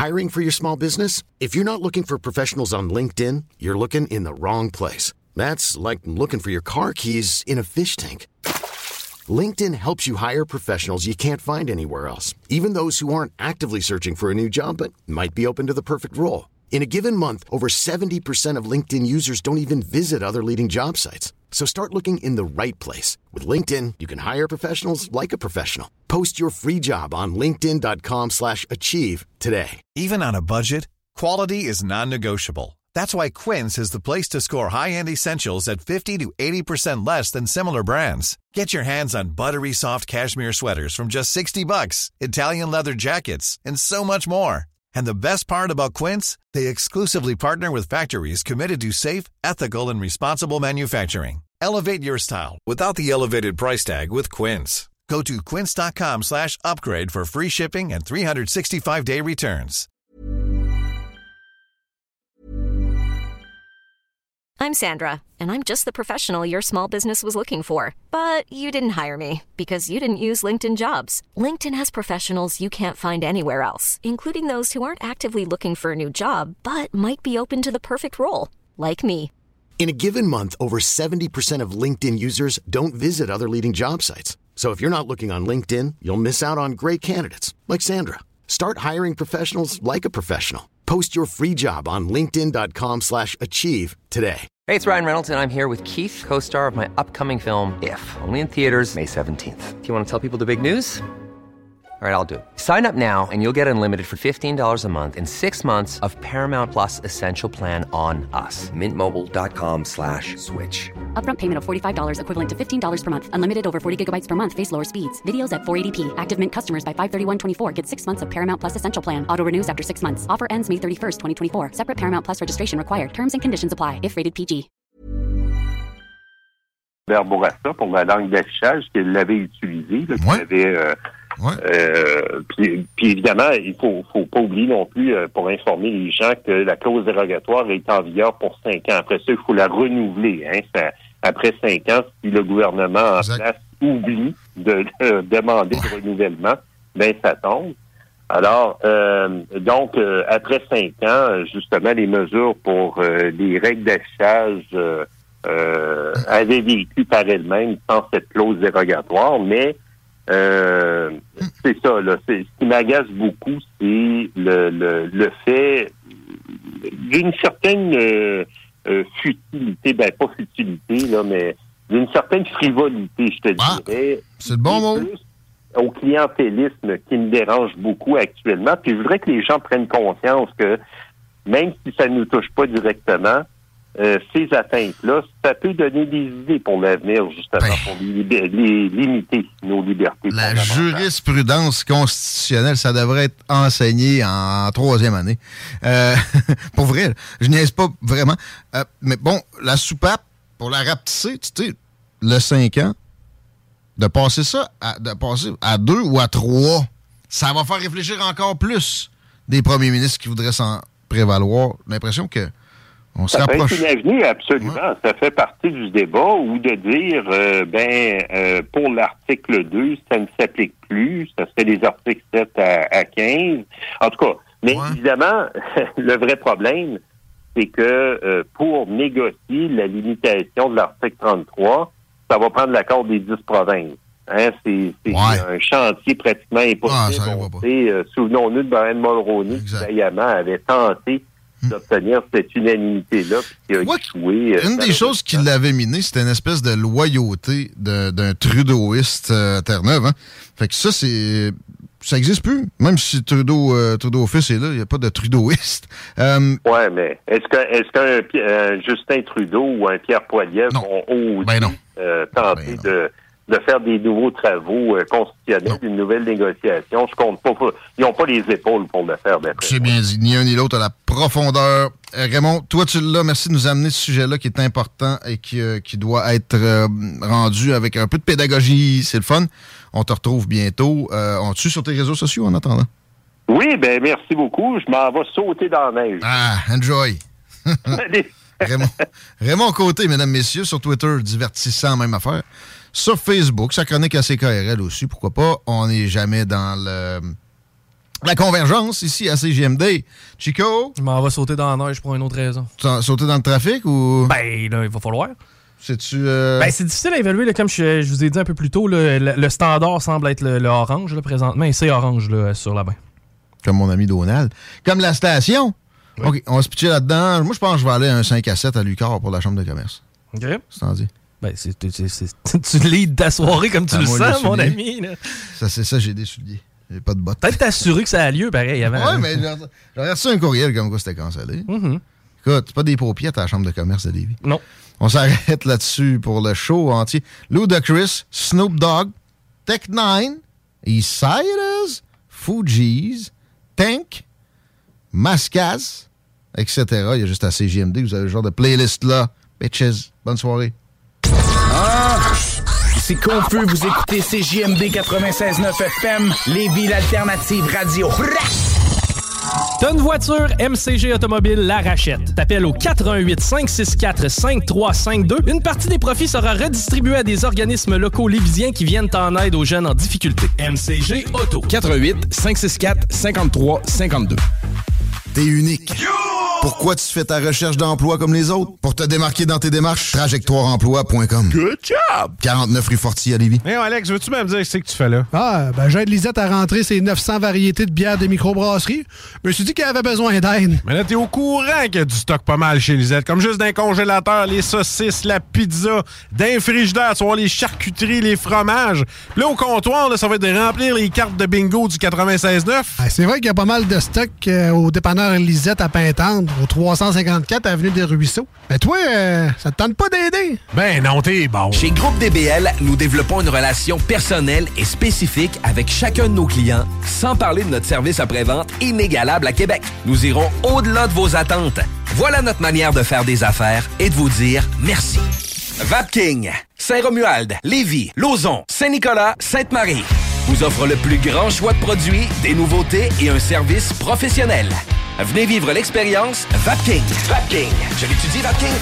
Hiring for your small business? If you're not looking for professionals on LinkedIn, you're looking in the wrong place. That's like looking for your car keys in a fish tank. LinkedIn helps you hire professionals you can't find anywhere else, even those who aren't actively searching for a new job but might be open to the perfect role. In a given month, over 70% of LinkedIn users don't even visit other leading job sites. So start looking in the right place. With LinkedIn, you can hire professionals like a professional. Post your free job on linkedin.com/achieve today. Even on a budget, quality is non-negotiable. That's why Quince is the place to score high-end essentials at 50 to 80% less than similar brands. Get your hands on buttery soft cashmere sweaters from just $60, Italian leather jackets, and so much more. And the best part about Quince, they exclusively partner with factories committed to safe, ethical, and responsible manufacturing. Elevate your style without the elevated price tag with Quince. Go to quince.com/upgrade for free shipping and 365-day returns. I'm Sandra, and I'm just the professional your small business was looking for. But you didn't hire me because you didn't use LinkedIn Jobs. LinkedIn has professionals you can't find anywhere else, including those who aren't actively looking for a new job, but might be open to the perfect role, like me. In a given month, over 70% of LinkedIn users don't visit other leading job sites. So if you're not looking on LinkedIn, you'll miss out on great candidates like Sandra. Start hiring professionals like a professional. Post your free job on linkedin.com/achieve today. Hey, it's Ryan Reynolds, and I'm here with Keith, co-star of my upcoming film, If, only in theaters May 17th. Do you want to tell people the big news? All right, I'll do it. Sign up now and you'll get unlimited for $15 a month and 6 months of Paramount Plus Essential Plan on us. MintMobile.com/switch. Upfront payment of $45 equivalent to $15 per month. Unlimited over 40 gigabytes per month. Face lower speeds. Videos at 480p. Active Mint customers by 531.24 get 6 months of Paramount Plus Essential Plan. Auto renews after 6 months. Offer ends May 31st, 2024. Separate Paramount Plus registration required. Terms and conditions apply if rated PG. Bourassa pour la langue d'affichage qu'il l'avait utilisée, là, qu'il avait... Puis évidemment, il faut pas oublier non plus, pour informer les gens, que la clause dérogatoire est en vigueur pour 5 ans. Après ça, il faut la renouveler. Après 5 ans, si le gouvernement en place oublie de demander de renouvellement, ben ça tombe. Alors, donc, après 5 ans, justement, les mesures pour les règles d'affichage avaient vécu par elles-mêmes sans cette clause dérogatoire, mais c'est ça, là. Ce qui m'agace beaucoup, c'est le fait d'une certaine futilité, ben pas futilité, là, mais d'une certaine frivolité, je te dirais. C'est le bon mot. Au clientélisme qui me dérange beaucoup actuellement. Puis je voudrais que les gens prennent conscience que même si ça ne nous touche pas directement, ces atteintes-là, ça peut donner des idées pour l'avenir, justement, pour limiter nos libertés. La jurisprudence constitutionnelle, ça devrait être enseigné en 3e année. Pour vrai, je niaise pas vraiment. Mais bon, la soupape, pour la rapetisser, tu sais, le 5 ans, de passer ça à 2 ou à 3, ça va faire réfléchir encore plus des premiers ministres qui voudraient s'en prévaloir. L'impression que on se rapproche. Ça fait une avenue, absolument. Ouais. Ça fait partie du débat, ou de dire, pour l'article 2, ça ne s'applique plus. Ça serait les articles 7 à 15. En tout cas, mais évidemment, le vrai problème, c'est que pour négocier la limitation de l'article 33, ça va prendre l'accord des 10 provinces. C'est un chantier pratiquement impossible. Souvenons-nous de Brian Mulroney, qui vaillamment avait tenté d'obtenir cette unanimité-là. Une des choses qui l'avait miné, c'était une espèce de loyauté d'un trudeauiste à Terre-Neuve. Hein? Fait que ça existe plus. Même si Trudeau fils est là, il n'y a pas de trudeauiste. Ouais, mais est-ce qu'un Justin Trudeau ou un Pierre Poilievre vont oser tenter de faire des nouveaux travaux constitutionnels, une nouvelle négociation? Je compte pas. Ils n'ont pas les épaules pour le faire. C'est bien dit. Ni un ni l'autre à la profondeur. Raymond, toi, tu l'as. Merci de nous amener ce sujet-là qui est important et qui doit être rendu avec un peu de pédagogie. C'est le fun. On te retrouve bientôt. On te suit sur tes réseaux sociaux en attendant? Oui, merci beaucoup. Je m'en vais sauter dans la neige. Enjoy. Raymond Côté, mesdames, messieurs, sur Twitter, divertissant, même affaire. Sur Facebook, sa chronique à CKRL aussi, pourquoi pas. On n'est jamais dans La convergence, ici, à CJMD. Chico? Je m'en vais sauter dans la neige pour une autre raison. Sauter dans le trafic ou... Ben, là, il va falloir. C'est-tu... Ben, c'est difficile à évaluer, là, comme je vous ai dit un peu plus tôt. Là, le standard semble être le orange, là, présentement, et c'est orange là, sur la bain. Comme mon ami Donald. Comme la station. Oui. OK, on va se pitcher là-dedans. Moi, je pense que je vais aller à un 5 à 7 à Lucar pour la chambre de commerce. OK. C'est dit. Ben, tu leads ta soirée comme tu le sens, mon ami. Là. Ça, c'est ça, j'ai des souliers. J'ai pas de bottes. Peut-être t'assurer que ça a lieu, pareil, avant. Ouais, mais j'aurais reçu un courriel comme quoi c'était cancellé. Mm-hmm. Écoute, c'est pas des paupières à la chambre de commerce de Lévis. Non. On s'arrête là-dessus pour le show entier. Ludacris, Snoop Dogg, Tech9, Eastsiders, Fugees, Tank, Mascaz, etc. Il y a juste à CJMD, vous avez le genre de playlist-là. Bitches, bonne soirée. Ah, c'est confus, vous écoutez CJMD 96.9 FM, Lévis, l'alternative radio. T'as une voiture, MCG Automobile la rachète. T'appelles au 418 564 5352. Une partie des profits sera redistribuée à des organismes locaux lévisiens qui viennent en aide aux jeunes en difficulté. MCG Auto. 418 564 5352. T'es unique. Pourquoi tu fais ta recherche d'emploi comme les autres? Pour te démarquer dans tes démarches, trajectoireemploi.com. Good job! 49 rue Fortier à Lévis. Hey Alex, veux-tu même dire ce que tu fais là? Ben j'aide Lisette à rentrer ses 900 variétés de bières de microbrasserie. Je me suis dit qu'elle avait besoin d'aide. Mais là, t'es au courant qu'il y a du stock pas mal chez Lisette. Comme juste d'un congélateur, les saucisses, la pizza, d'un frigidaire, tu vois les charcuteries, les fromages. Puis là, au comptoir, là, ça va être de remplir les cartes de bingo du 96.9. C'est vrai qu'il y a pas mal de stock au dépanneur Lisette à Pintendre, au 354 avenue des Ruisseaux. Mais toi, ça te tente pas d'aider? Ben non, t'es bon. Chez Groupe DBL, nous développons une relation personnelle et spécifique avec chacun de nos clients, sans parler de notre service après-vente inégalable à Québec. Nous irons au-delà de vos attentes. Voilà notre manière de faire des affaires et de vous dire merci. Vapking, Saint-Romuald, Lévis, Lauson, Saint-Nicolas, Sainte-Marie vous offre le plus grand choix de produits, des nouveautés et un service professionnel. Venez vivre l'expérience Vapking. Vapking. Je l'étudie, Vapking.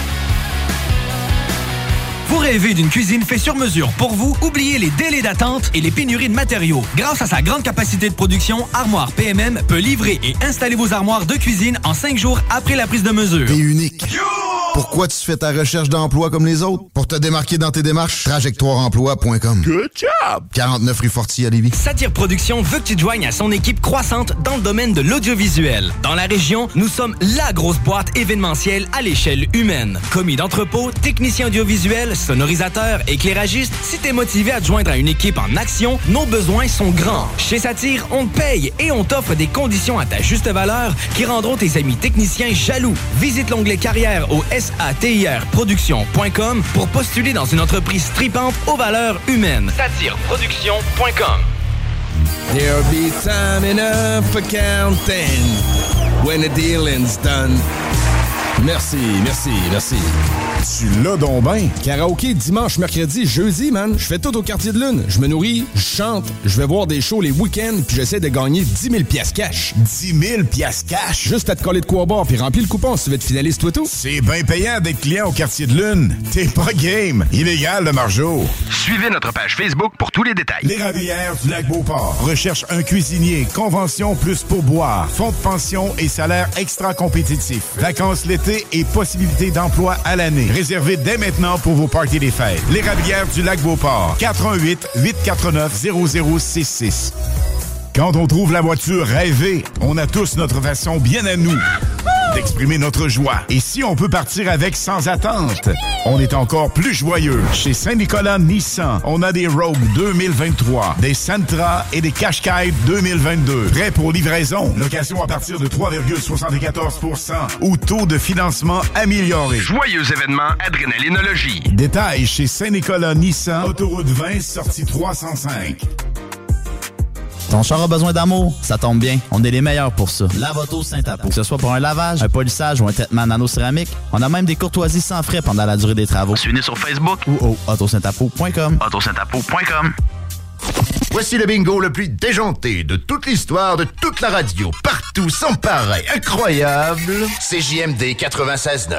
Vous rêvez d'une cuisine faite sur mesure pour vous? Oubliez les délais d'attente et les pénuries de matériaux. Grâce à sa grande capacité de production, Armoire PMM peut livrer et installer vos armoires de cuisine en 5 jours après la prise de mesure. T'es unique. Pourquoi tu fais ta recherche d'emploi comme les autres? Pour te démarquer dans tes démarches, trajectoireemploi.com. Good job! 49 rue Fortier à Lévis. Satire Productions veut que tu te joignes à son équipe croissante dans le domaine de l'audiovisuel. Dans la région, nous sommes la grosse boîte événementielle à l'échelle humaine. Commis d'entrepôt, technicien audiovisuel, sonorisateur, éclairagiste, si t'es motivé à te joindre à une équipe en action, nos besoins sont grands. Chez Satire, on te paye et on t'offre des conditions à ta juste valeur qui rendront tes amis techniciens jaloux. Visite l'onglet carrière au satirproduction.com pour postuler dans une entreprise tripante aux valeurs humaines. Satireproduction.com. There'll be time enough for counting when the dealing's done. Merci. Tu l'as donc ben. Karaoké dimanche, mercredi, jeudi, man. Je fais tout au Quartier de Lune. Je me nourris, je chante, je vais voir des shows les week-ends, puis j'essaie de gagner 10 000 piastres cash. 10 000 piastres cash? Juste à te coller de quoi boire, puis remplis le coupon si tu veux être finaliste toi tout. C'est bien payant d'être client au Quartier de Lune. T'es pas game. Illégal, le margeau. Suivez notre page Facebook pour tous les détails. L'Érablière du Lac-Beauport recherche un cuisinier. Convention plus pourboire. Fonds de pension et salaire extra compétitif. Vacances l'été et possibilités d'emploi à l'année. Réservez dès maintenant pour vos parties des fêtes. L'Érablière du Lac-Beauport. 418-849-0066. Quand on trouve la voiture rêvée, on a tous notre façon bien à nous d'exprimer notre joie. Et si on peut partir avec sans attente, on est encore plus joyeux. Chez Saint-Nicolas Nissan, on a des Rogue 2023, des Sentra et des Qashqai 2022. Prêts pour livraison. Location à partir de 3,74% ou taux de financement amélioré. Joyeux événement Adrénalinologie. Détails chez Saint-Nicolas Nissan, autoroute 20, sortie 305. Ton char a besoin d'amour? Ça tombe bien, on est les meilleurs pour ça. Lavoto Saint-Apo. Que ce soit pour un lavage, un polissage ou un traitement nano-céramique, on a même des courtoisies sans frais pendant la durée des travaux. Suivez-nous sur Facebook ou au autosaintapo.com. autosaintapo.com. Voici le bingo le plus déjanté de toute l'histoire de toute la radio. Partout, sans pareil, incroyable. CJMD 96.9.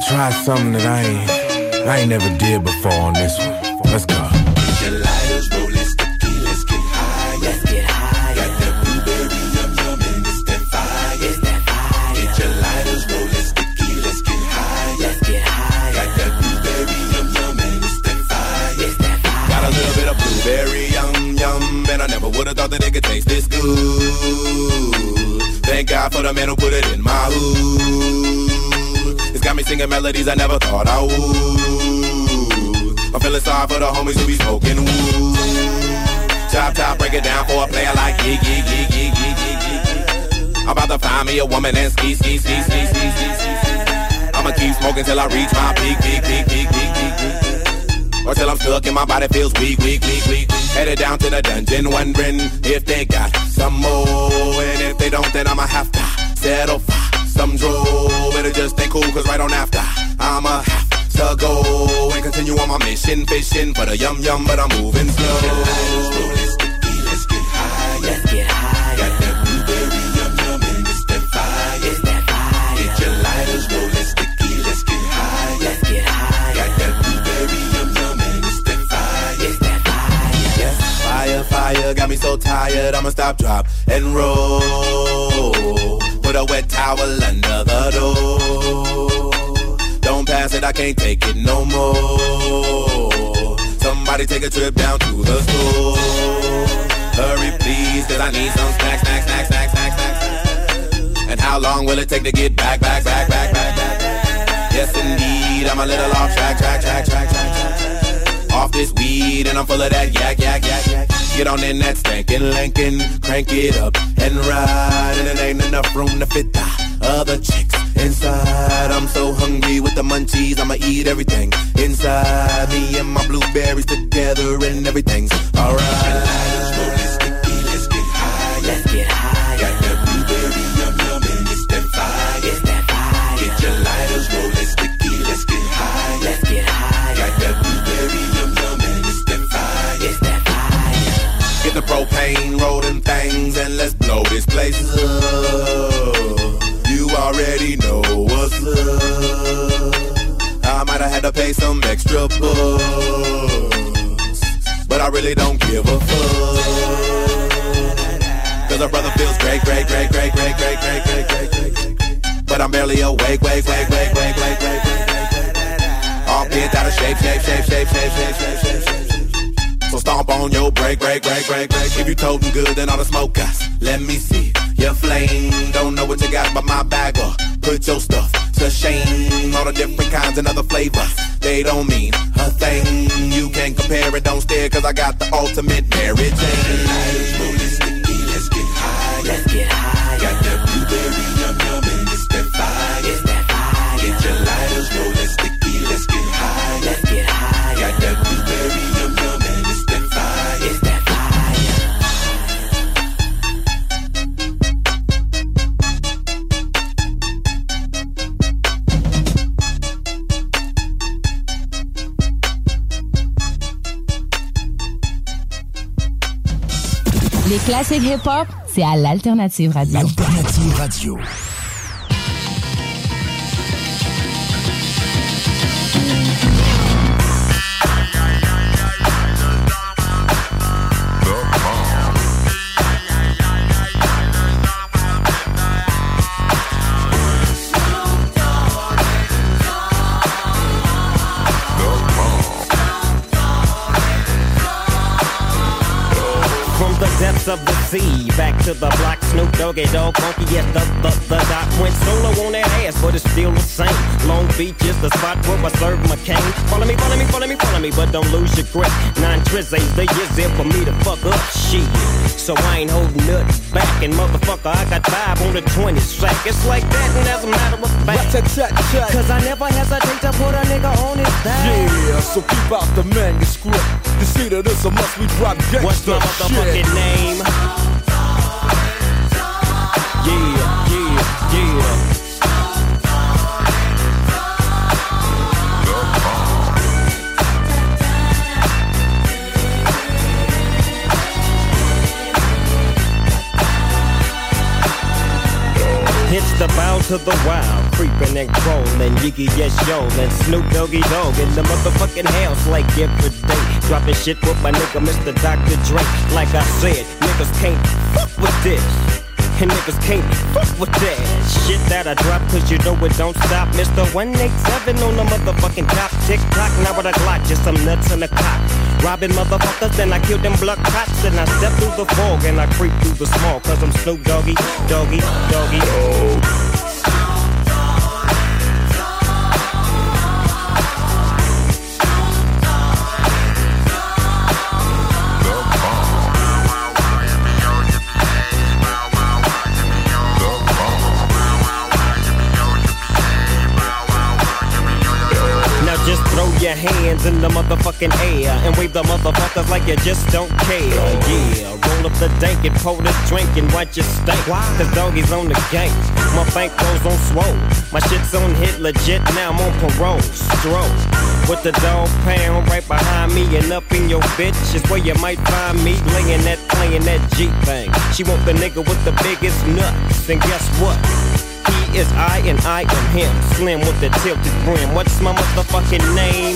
gonna try something that I ain't never did before on this one. Let's go. Get your lighters, roll it sticky, let's get high. Let's get high. Got that blueberry yum yum and it's that fire. It's that fire. Get your lighters, roll it sticky, let's get high. Let's get high. Got that blueberry yum yum and it's that fire. It's that fire. Got a little bit of blueberry yum yum, and I never would've thought that it could taste this good. Thank God for the man who put it in my hood. It's got me singing melodies I never thought I would. I'm feeling sorry for the homies who be smoking wood. Chop, chop, break it down for a player like yeah, yeah, yeah, yeah, yeah, yeah, yeah. I'm about to find me a woman and ski, ski, ski, ski, ski, ski, ski. I'ma keep smoking till I reach my peak, peak, peak, peak, peak, peak, peak. Or till I'm stuck and my body feels weak, weak, weak, weak. Headed down to the dungeon wondering if they got some more. And if they don't, then I'ma have to settle for some draw. Better just stay cool, cause right on after I'ma have to go and continue on my mission, fishing for the yum yum, but I'm moving slow. Let's get high. Let's get high. Got that blueberry yum yum and it's that fire. It's that fire. Get your lighters, roll it sticky, let's get high. Let's get high. Got that blueberry yum yum and it's that fire. It's that fire. Yeah, fire, fire, got me so tired, I'ma stop, drop, and roll. Put a wet towel under the door. Don't pass it, I can't take it no more. Somebody take a trip down to the store. Hurry please, cause I need some snacks, snacks, snacks, snacks, snacks, snacks. And how long will it take to get back, back, back, back, back, back? Yes indeed, I'm a little off track, track, track, track, track, track. Off this weed and I'm full of that yak, yak, yak, yak. Get on in that stankin' Lincoln, crank it up and ride. And it ain't enough room to fit the other chicks inside. I'm so hungry with the munchies, I'ma eat everything inside. Me and my blueberries together and everything's alright. Let's get high. Let's get high. Got that blueberry yum yum and it's that fire. It's that fire. Get your lighters, roll it sticky, let's get high. Let's get high. Got that blueberry yum yum and it's that fire. It's that fire. Get the propane, roll them things, and let's blow this place up. You already know what's up. I might have had to pay some extra bucks, but I really don't give a fuck. Cause a brother feels great, great, great, great, great, great, great, great, great, great. But I'm barely awake, wake, wake, wake, wake, wake, wake, wake. All bent out of shape, shape, shape, shape, shape, shape, shape, shape, shape. So stomp on your break, break, break, break, break. If you toting good, then all the smoke us. Let me see your flame. Don't know what you got, but my bag up. Put your stuff to shame. All the different kinds and other flavors, they don't mean a thing. You can't compare it, don't stare, cause I got the ultimate Mary Jane. Let's get high. Let's get high. Got that blueberry yum yum and it's that fire. It's that fire. Get your lighters, roll it sticky, let's get high. Let's get high. Got that blueberry yum yum and it's that fire. It's that Les classiques hip-hop, c'est à l'Alternative Radio. L'Alternative Radio. Depths of the sea, back to the block, Snoop Doggy Dogg, funky as the doc went solo on that ass, but it's still the same. Long Beach is the spot where I serve my cane. Follow me, follow me, follow me, follow me, but don't lose your grip. 9 tris ain't the years there for me to fuck up shit. So I ain't holding nothing back, and motherfucker, I got 5 on the 20 sack. It's like that, and as a matter of fact, cause I never hesitate to put a nigga on his back. Yeah, so keep out the manuscript. To see that it's a must, we drop gangsta. What's my motherfucking name? Yeah, yeah, yeah. It's the bout to the wild, creeping and crawling, Yiggy yes yo, and Snoop Doggy Dogg in the motherfucking house like every day, dropping shit with my nigga Mr. Dr. Dre. Like I said, niggas can't fuck with this. And niggas can't fuck with that shit that I drop, cause you know it don't stop. Mr. 187 on the motherfucking top. Tick-tock, now with a Glock, just some nuts in the cock. Robbing motherfuckers, then I kill them blood cops. Then I step through the fog and I creep through the smog, cause I'm Snoop Doggy, Doggy, Doggy. Oh. Just throw your hands in the motherfucking air and wave the motherfuckers like you just don't care. Yeah, roll up the dank and pour the drink and watch it stink. Cause doggy's on the gang. My bankroll's on swole. My shit's on hit legit, now I'm on parole. Stroke with the dog pound right behind me and up in your bitch is where you might find me playing that G thing. She want the nigga with the biggest nuts, and guess what? He is I and I am him. Slim with the tilted brim. What's my motherfucking name?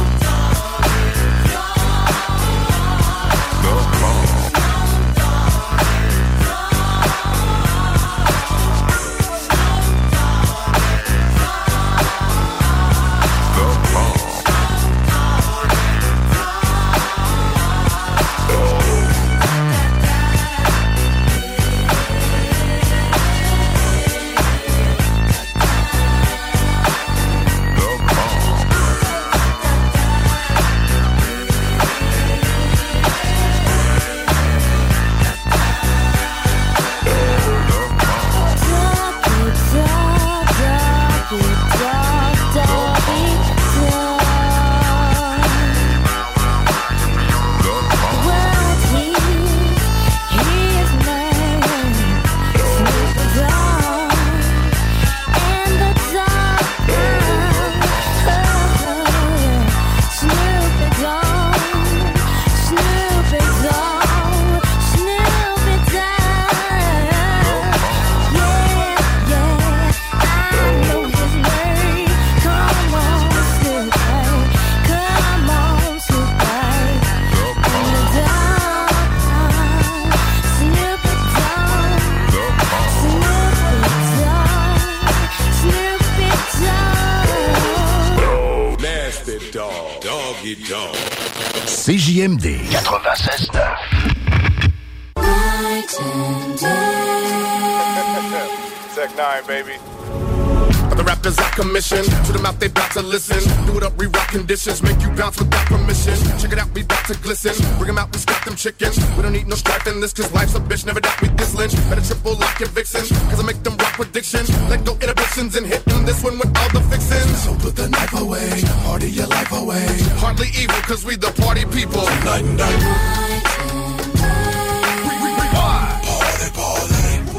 CJMD 96.9. Tech 9, baby. The rappers I commission, to them out they bout to listen. Do it up, re-rock conditions, make you bounce without permission. Check it out, we bout to glisten. Bring them out, we stack them chickens. We don't need no strife in this, cause life's a bitch, never doubt we this lynch. Better triple lock your vixen, cause I make them rock predictions. Let go inhibitions and hit them this one with all the fixins. So put the knife away, party your life away. Hardly evil, cause we the party people. Night and night. Party, party.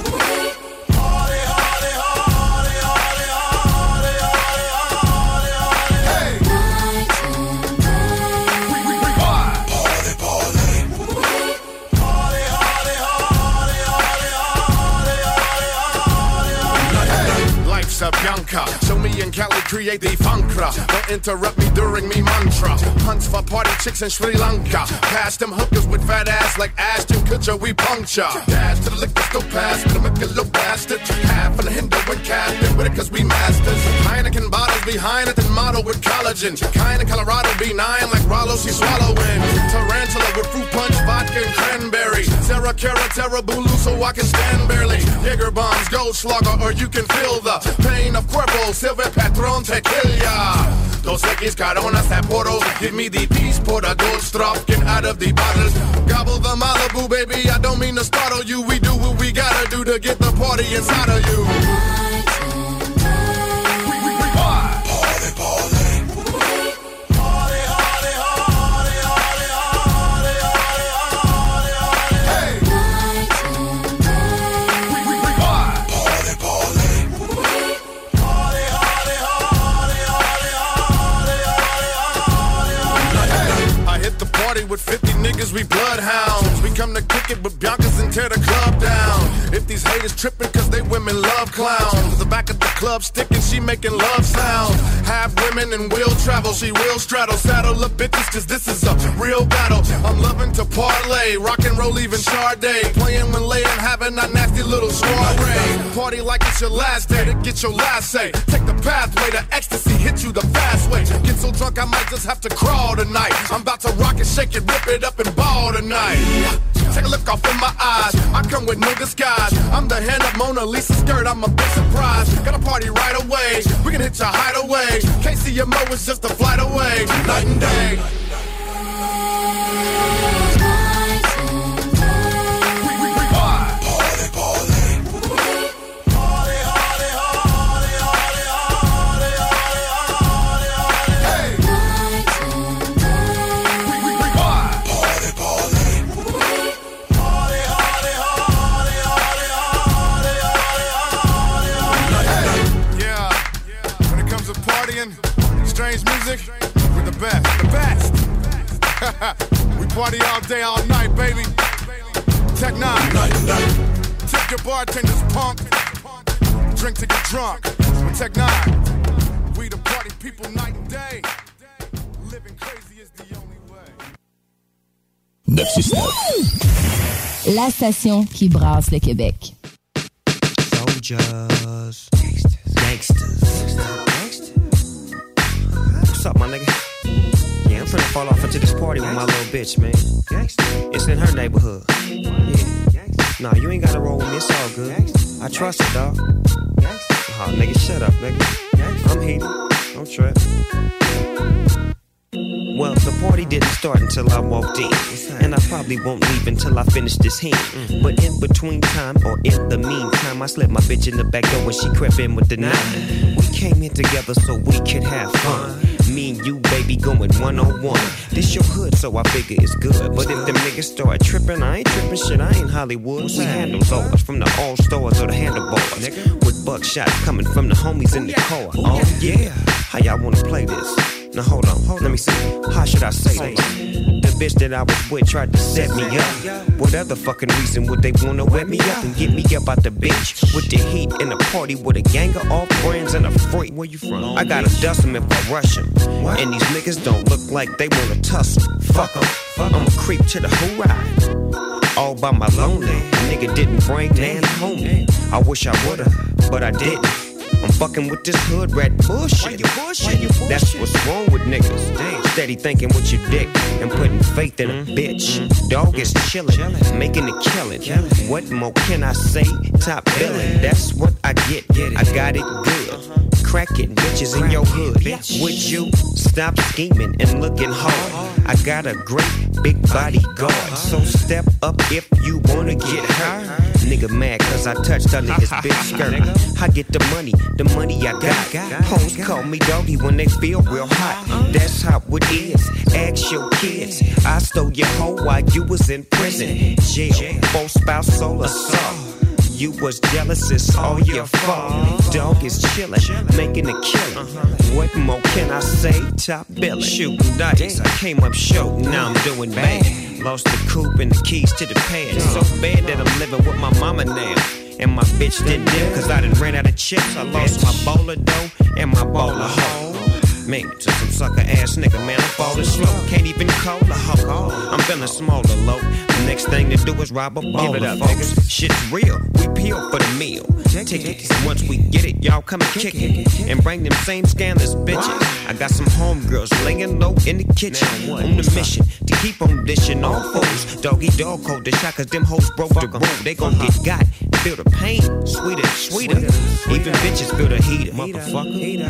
Bianca, show me and Cali create the funkra. Don't interrupt me during me mantra. Hunts for party chicks in Sri Lanka. Pass them hookers with fat ass like Ashton Kutcher, we puncture. Dash to the liquor store pass, but I'm a little bastard. Half on the Hindu and captain with it cause we masters. Heineken bottles behind it and model with collagen. Kinda Colorado B9 like Rollo, she swallowing. Tarantula with fruit punch, vodka and cranberry. Sarah Cara, Terra Bulu so I can stand barely. Jaeger bombs, Goldschlager, or you can feel the pain of Cuervo, Silver Patron, Tequila. Dos X Coronas, Sapporo. Give me the peace, pour the gold strop, get out of the bottles. Gobble the Malibu, baby, I don't mean to startle you. We do what we gotta do to get the party inside of you. Party, party. With 50 niggas, we bloodhounds. We come to kick it with Biancas and tear the club down. If these haters tripping cause they women love clowns. The back of the club sticking, she making love sounds. Half women and will travel, she will straddle. Saddle up bitches cause this is a real battle. I'm loving to parlay, rock and roll even Sade. Playing when laying, having a nasty little soiree. Party like it's your last day to get your last say. Take the pathway to ecstasy, hit you the fast way. Get so drunk I might just have to crawl tonight. I'm about to rock it, shake it, rip it up and ball tonight. Take a look off in my eyes, I come with no disguise. I'm the hand of Mona Lisa skirt, I'm a big surprise. Got a party right away, we can hit your hideaway. KCMO is just a flight away, night and day. Strange music, we're the best, the best. We party all day, all night, baby. Tech 9, tip your bartender's punk. Drink to get drunk. With Tech 9, we the party people night and day. Living crazy is the only way. 969. La station qui brasse le Québec. Soldiers, gangsters. What's up, my nigga? Yeah, I'm finna fall off into this party with my little bitch, man. It's in her neighborhood. Yeah. Nah, you ain't gotta roll with me, it's all good. I trust her, dog. Oh, nigga, shut up, nigga. I'm heated. Don't trip. Well, the party didn't start until I walked in. And I probably won't leave until I finish this hand. But in between time, or in the meantime, I slipped my bitch in the back door when she crept in with the nine. We came in together so we could have fun. Me and you, baby, going one-on-one. This your hood, so I figure it's good. But if them niggas start tripping, I ain't tripping shit, I ain't Hollywood. We handle those from the all stores or the handlebars. With buckshots coming from the homies in the car. Oh yeah, how y'all wanna play this? Now hold on, let me see. How should I say this? The bitch that I was with tried to set me up. What other fucking reason would they wanna wet me up and get me up out the bitch with the heat in a party with a gang of off brands and a freak? Where you from? I gotta dust them if I rush them. And these niggas don't look like they wanna tussle. Fuck them. I'm a creep to the whole ride. All by my lonely. Nigga didn't bring man home. I wish I would've, but I didn't. I'm fucking with this hood rat bullshit. That's what's wrong with niggas. Steady thinking with your dick and putting faith in a bitch. Dog is chillin', making a killin'. What more can I say? Top billin', that's what I get. I got it good. Cracking bitches in your hood. Would you stop scheming and looking hard? I got a great big bodyguard. So step up if you wanna get hurt. Nigga mad cause I touched under his big skirt. I get the money I got. Hoes call me doggy when they feel real hot. That's how it is. Ask your kids. I stole your hoe while you was in prison. Jail, full spouse, soul assault. You was jealous, it's all your fault. Dog is chillin', making a killing. What more can I say? Top billing. Shooting dice, I came up short, now I'm doing bad. Lost the coupe and the keys to the pad. So bad that I'm living with my mama now. And my bitch didn't dip cause I done ran out of chips. I lost my bowler dough and my bowler hoe. Man, to some sucker ass nigga, man, I'm falling slow. Can't even call a hoe. I'm feeling smaller, low. The next thing to do is rob a baller, folks. Shit's real, we peel for the meal. Tickets, and once we get it, y'all come and kick it. And bring them same scandalous bitches. I got some homegirls laying low in the kitchen. On the mission to keep on dishing all foes. Doggy dog cold the shot cause them hoes broke the rule. They gon' get got, feel the pain. Sweeter, sweeter. Even bitches feel the heater. Motherfucker.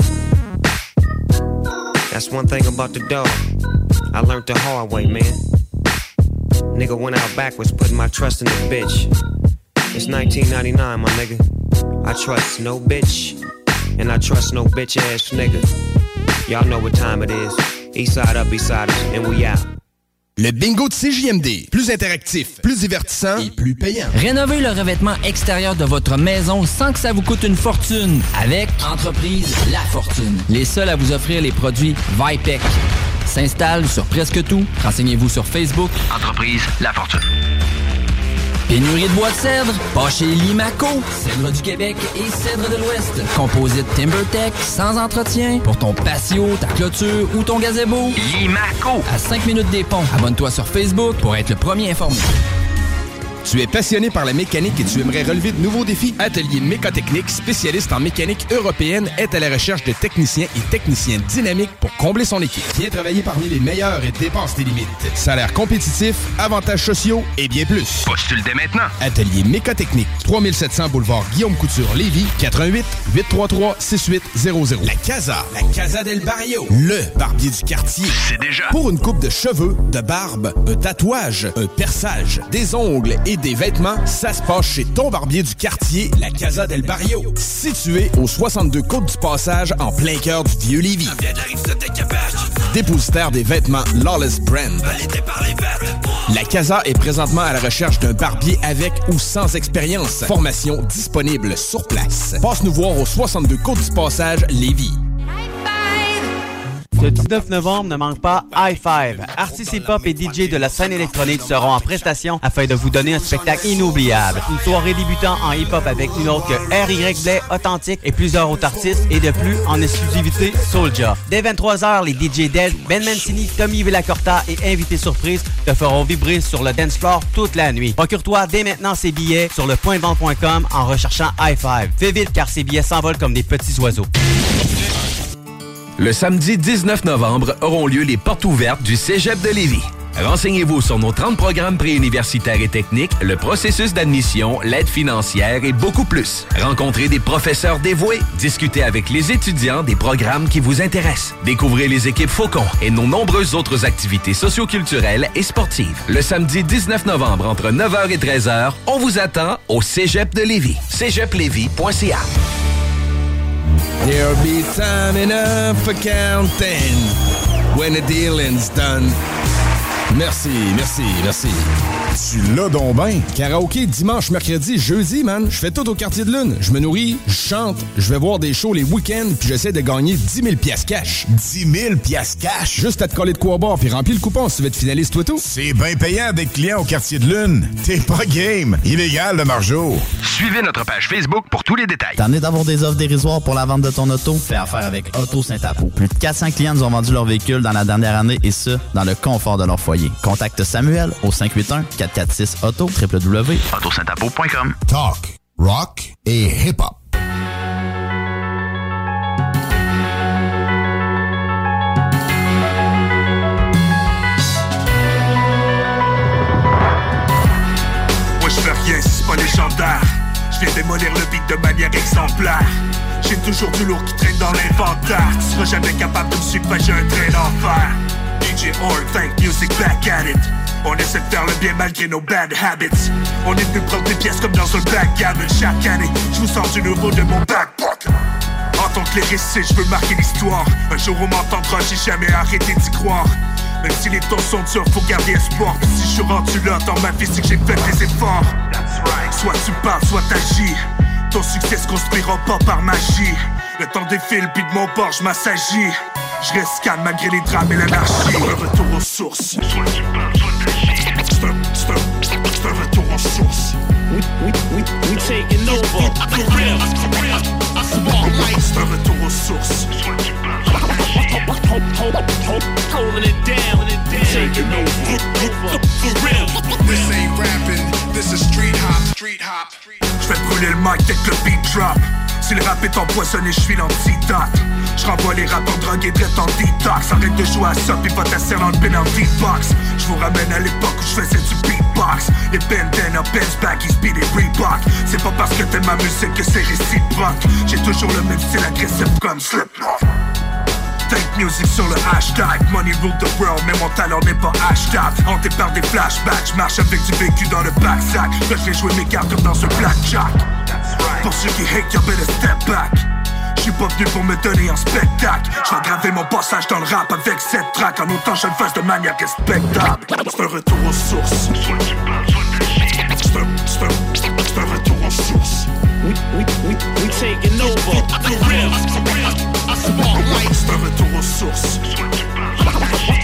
That's one thing about the dog. I learned the hard way, man. Nigga went out backwards, putting my trust in the bitch. It's 1999, my nigga. I trust no bitch, and I trust no bitch ass nigga. Y'all know what time it is. East side up, east side, and we out. Le bingo de CJMD. Plus interactif, plus divertissant et plus payant. Rénovez le revêtement extérieur de votre maison sans que ça vous coûte une fortune. Avec Entreprise La Fortune. Les seuls à vous offrir les produits Vipec. s'installe sur presque tout. Renseignez-vous sur Facebook. Entreprise La Fortune. Pénurie de bois de cèdre? Pas chez Limaco. Cèdre du Québec et cèdre de l'Ouest. Composite TimberTech, sans entretien, pour ton patio, ta clôture ou ton gazebo. Limaco. À 5 minutes des ponts. Abonne-toi sur Facebook pour être le premier informé. Tu es passionné par la mécanique et tu aimerais relever de nouveaux défis? Atelier Mécotechnique, spécialiste en mécanique européenne, est à la recherche de techniciens et techniciens dynamiques pour combler son équipe. Viens travailler parmi les meilleurs et dépasse tes limites. Salaire compétitif, avantages sociaux et bien plus. Postule dès maintenant. Atelier Mécotechnique, 3700 boulevard Guillaume Couture, Lévis, 88 833 6800. La Casa del Barrio, le barbier du quartier. C'est déjà. Pour une coupe de cheveux, de barbe, un tatouage, un perçage, des ongles et des vêtements, ça se passe chez ton barbier du quartier, la Casa del Barrio. Situé au 62 Côte du Passage, en plein cœur du vieux Lévis. Dépositaire des vêtements Lawless Brand. La Casa est présentement à la recherche d'un barbier avec ou sans expérience. Formation disponible sur place. Passe nous voir au 62 Côte du Passage, Lévis. Le 19 novembre, ne manque pas High Five. Artistes hip-hop et DJ de la scène électronique seront en prestation afin de vous donner un spectacle inoubliable. Une soirée débutant en hip-hop avec une autre que R.Y. Blais, Authentique et plusieurs autres artistes et de plus en exclusivité Soulja. Dès 23h, les DJ Del, Ben Mancini, Tommy Villacorta et invités surprises te feront vibrer sur le dance floor toute la nuit. Procure-toi dès maintenant ces billets sur lepointdevente.com en recherchant High Five. Fais vite car ces billets s'envolent comme des petits oiseaux. Le samedi 19 novembre auront lieu les portes ouvertes du Cégep de Lévis. Renseignez-vous sur nos 30 programmes préuniversitaires et techniques, le processus d'admission, l'aide financière et beaucoup plus. Rencontrez des professeurs dévoués, discutez avec les étudiants des programmes qui vous intéressent. Découvrez les équipes Faucon et nos nombreuses autres activités socioculturelles et sportives. Le samedi 19 novembre entre 9h et 13h, on vous attend au Cégep de Lévis. cégeplevy.ca. There'll be time enough for counting when the dealing's done. Merci. Tu l'as donc ben. Karaoké dimanche, mercredi, jeudi, man. Je fais tout au Quartier de Lune. Je me nourris, je chante, je vais voir des shows les week-ends, puis j'essaie de gagner 10 000 piastres cash. 10 000 piastres cash? Juste à te coller de quoi boire, puis remplis le coupon si tu veux être finaliste, toi tout. C'est bien payant d'être client au Quartier de Lune. T'es pas game. Illégal, le margeau. Suivez notre page Facebook pour tous les détails. T'en es d'avoir des offres dérisoires pour la vente de ton auto? Fais affaire avec Auto Saint-Apo. Plus de 400 clients nous ont vendu leur véhicule dans la dernière année et ce, dans le confort de leur foyer. Contacte Samuel au 581-446-AUTO, www.autosaintapo.com. Talk, rock et hip-hop. Moi je fais rien si c'est pas légendaire. Je viens démolir le beat de manière exemplaire. J'ai toujours du lourd qui traîne dans l'inventaire. Tu seras jamais capable de me suivre, j'ai un train d'enfer. DJ Org, Thank Music, back at it. On essaie de faire le bien malgré nos bad habits. On est venu prendre des pièces comme dans un backgammon. Chaque année, je vous sors du nouveau de mon backpocket. En tant que lyriciste, je veux marquer l'histoire. Un jour on m'entendra, j'ai jamais arrêté d'y croire. Même si les temps sont durs, faut garder espoir. Puis si je suis rendu là dans ma vie, c'est que j'ai fait des efforts. Soit tu parles, soit t'agis. Ton succès se construira pas par magie. Le temps défile, puis de mon bord, je m'assagis. Je reste calme malgré les drames et l'anarchie. Un retour aux sources. Soit tu parles, soit t'agis. C'est un retour aux sources. We taking over. For real. C'est un retour aux sources. Soit tu parles, soit t'agis. Holding it down. Taking over. For real. This ain't rapping, this is street hop. J'vais brûler le mic dès que le beat drop. Si le rap est empoisonné, j'suis l'antidote. J'renvoie les rappeurs drogués direct en detox. Arrête de jouer à ça pis va t'asseoir dans le penalty box. J'vous ramène à l'époque où j'faisais du beatbox. Les bandana, Benz, baggies, speed et Reebok. C'est pas parce que t'aimes ma musique que c'est réciproque. J'ai toujours le même style agressif comme Slipknot. Thank Music sur le hashtag. Money rule the world, mais mon talent n'est pas hashtag. Hanté par des flashbacks, j'marche avec du vécu dans le backsack. Là je vais jouer mes cartes dans un blackjack. Pour ceux qui hate, you better step back. J'suis pas venu pour me donner en spectacle. J'vais graver mon passage dans le rap avec cette track. En autant je le fasse de manière respectable. C'est un retour aux sources. Soit tu parles, soit t'agis. C'est un retour aux sources. We taking over. For real. C'est un retour aux sources. Soit tu parles, soit t'agis.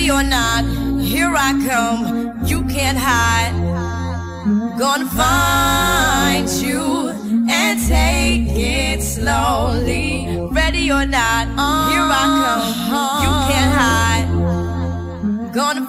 Ready or not, here I come. You can't hide. Gonna find you and take it slowly. Ready or not, here I come. You can't hide. Gonna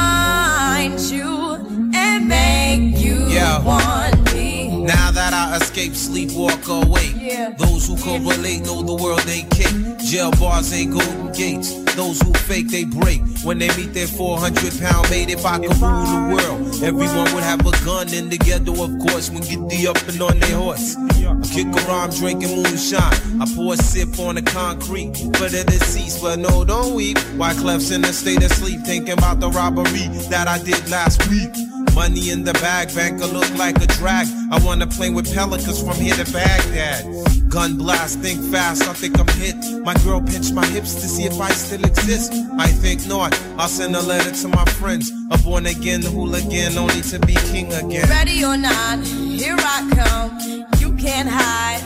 find you and make you want me. Now that I escape, sleep, walk awake. Those who correlate know the world ain't kick. Jail bars ain't golden gates. Those who fake, they break. When they meet their 400-pound mate, if I could rule the world, everyone would have a gun in the ghetto, of course, when get the up and on their horse. I kick around drinking moonshine. I pour a sip on the concrete for the deceased, but no, don't weep. Wyclef's in a state of sleep, thinking about the robbery that I did last week. Money in the bag, banker look like a drag. I wanna play with pelicans from here to Baghdad. Gun blast, think fast, I think I'm hit. My girl pinched my hips to see if I still exist. I think not, I'll send a letter to my friends. A born again hooligan, only to be king again. Ready or not, here I come. You can't hide.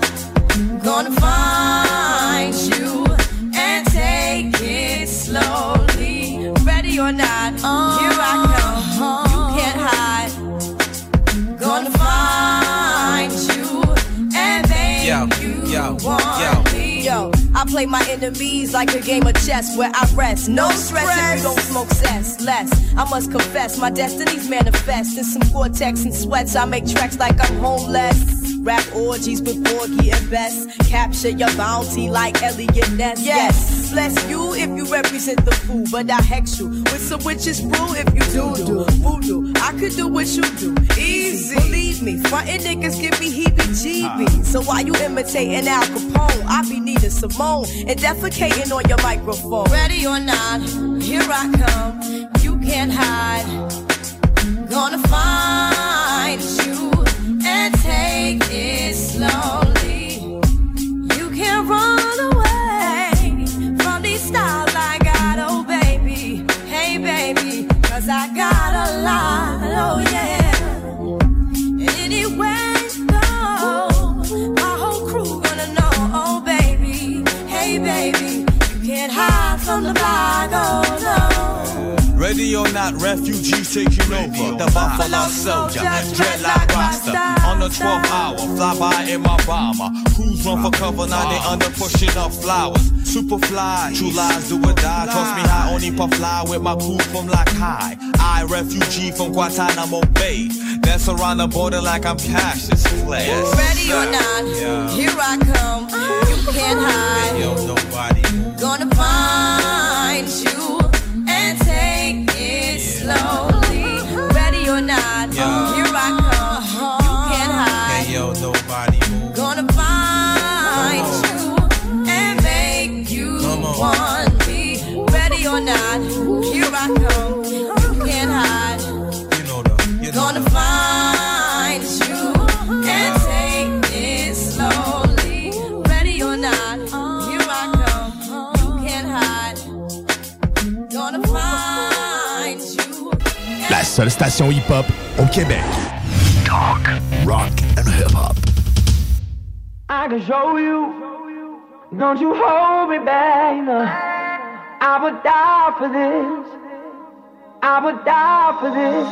Gonna find you and take it slowly. Ready or not, here I come. You can't hide. Gonna find you and make you want me. Yo, I play my enemies like a game of chess where I rest. No stress if you don't smoke cess. Less, I must confess, my destinies manifest. In some Gore-Tex and sweats, I make tracks like I'm homeless. Rap orgies with Porgy and Bess. Capture your bounty like Elliot Ness. Yes, bless you if you represent the fool, but I hex you with some witches brew if you do voodoo. I could do what you do, easy. Believe me, frontin' niggas give me heebie-jeebies. So why you imitating Al Capone? I be needing Simone and defecating on your microphone. Ready or not, here I come. You can't hide. Gonna find you and take it slowly. You can't run away from these styles I got, oh baby. Hey baby, cause I got a lot, oh yeah. And anywhere you go, my whole crew gonna know, oh baby. Hey baby, you can't hide from the block, oh no. Ready or not, refugees taking over. The Buffalo Soldier, dreadlock roster. On the 12th hour, fly by in my bomber. Crews run for cover, now they under pushing up flowers. Super fly, true lies do or die. Toss me high, only puff fly with my crew from like high. I, refugee from Guantanamo Bay. Dance around the border like I'm Cassius Clay. Ready or not, here I come. You can't hide. Yo, nobody. Gonna find you and take it slowly. Ready or not, here I come. You can't hide. Hey, yo, nobody. Gonna find you and make you want me. Ready or not, here I come. You can't hide. Gonna find you and take it slowly. Ready or not, here I come. You can't hide. Gonna find you. La seule station hip-hop au Québec. Talk, rock and hip-hop. I can show you. Don't you hold me back, no. I would die for this. I would die for this.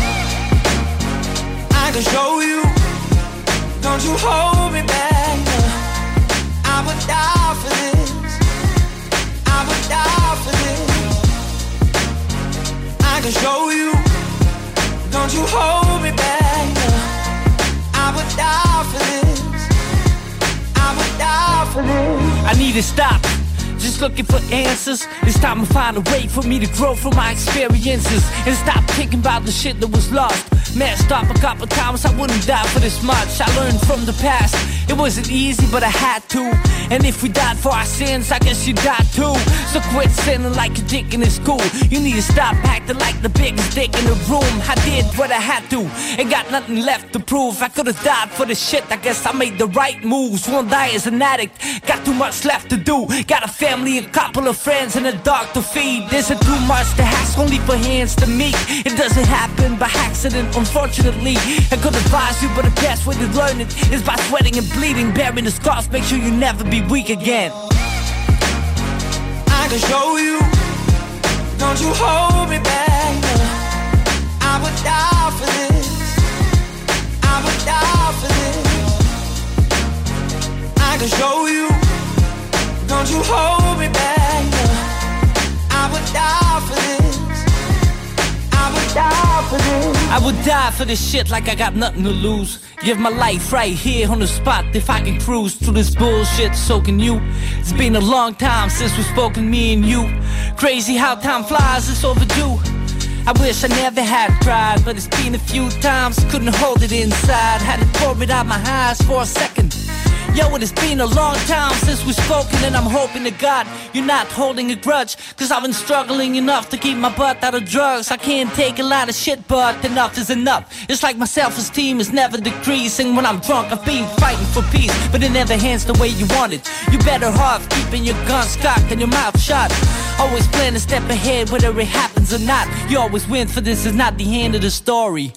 I can show you. Don't you hold me back, no. I would die for this. I would die for this. I can show you. Don't you hold me back, no. I would die for this. I would die for this. I need to stop. Just looking for answers. It's time to find a way for me to grow from my experiences and stop thinking about the shit that was lost. Messed up a couple times, I wouldn't die for this much. I learned from the past. It wasn't easy, but I had to. And if we died for our sins, I guess you died too. So quit sinning like a dick in school. You need to stop acting like the biggest dick in the room. I did what I had to, ain't got nothing left to prove. I could've died for the shit, I guess I made the right moves. Won't die as an addict, got too much left to do. Got a family, a couple of friends, and a dog to feed. There's a too much to ask, only for hands to meet. It doesn't happen by accident, unfortunately. I could advise you, but the best way to learn it is by sweating and bleeding. Bearing the scars, make sure you never be weak again. I can show you. Don't you hold me back, no. I would die for this. I would die for this. I can show you. Don't you hold me back, no. I would die for this. I would die for this. I would die for this shit like I got nothing to lose. Give my life right here on the spot if I can cruise through this bullshit, so can you. It's been a long time since we've spoken, me and you. Crazy how time flies, it's overdue. I wish I never had cried, but it's been a few times, couldn't hold it inside. Had to pour it out my eyes for a second. Yo, it has been a long time since we've spoken, and I'm hoping to God you're not holding a grudge, cause I've been struggling enough to keep my butt out of drugs. I can't take a lot of shit, but enough is enough. It's like my self-esteem is never decreasing. When I'm drunk, I've been fighting for peace, but it never hands the way you want it. You better off keeping your guns cocked and your mouth shut. Always plan to step ahead whether it happens or not. You always win, for this is not the end of the story.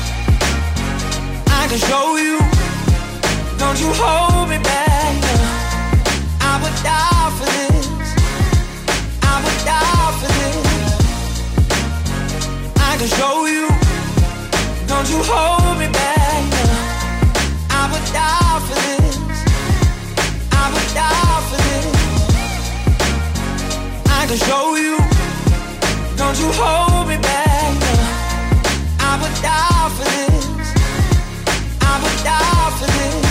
I can show you. Don't you hold me back, no. I would die for this. I would die for this. I can show you. Don't you hold me back, no. I would die for this. I would die for this. I can show you. Don't you hold me back, no. I would die for this. I would die for this.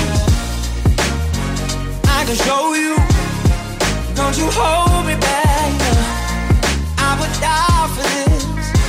I can show you. Don't you hold me back, no. I would die for this.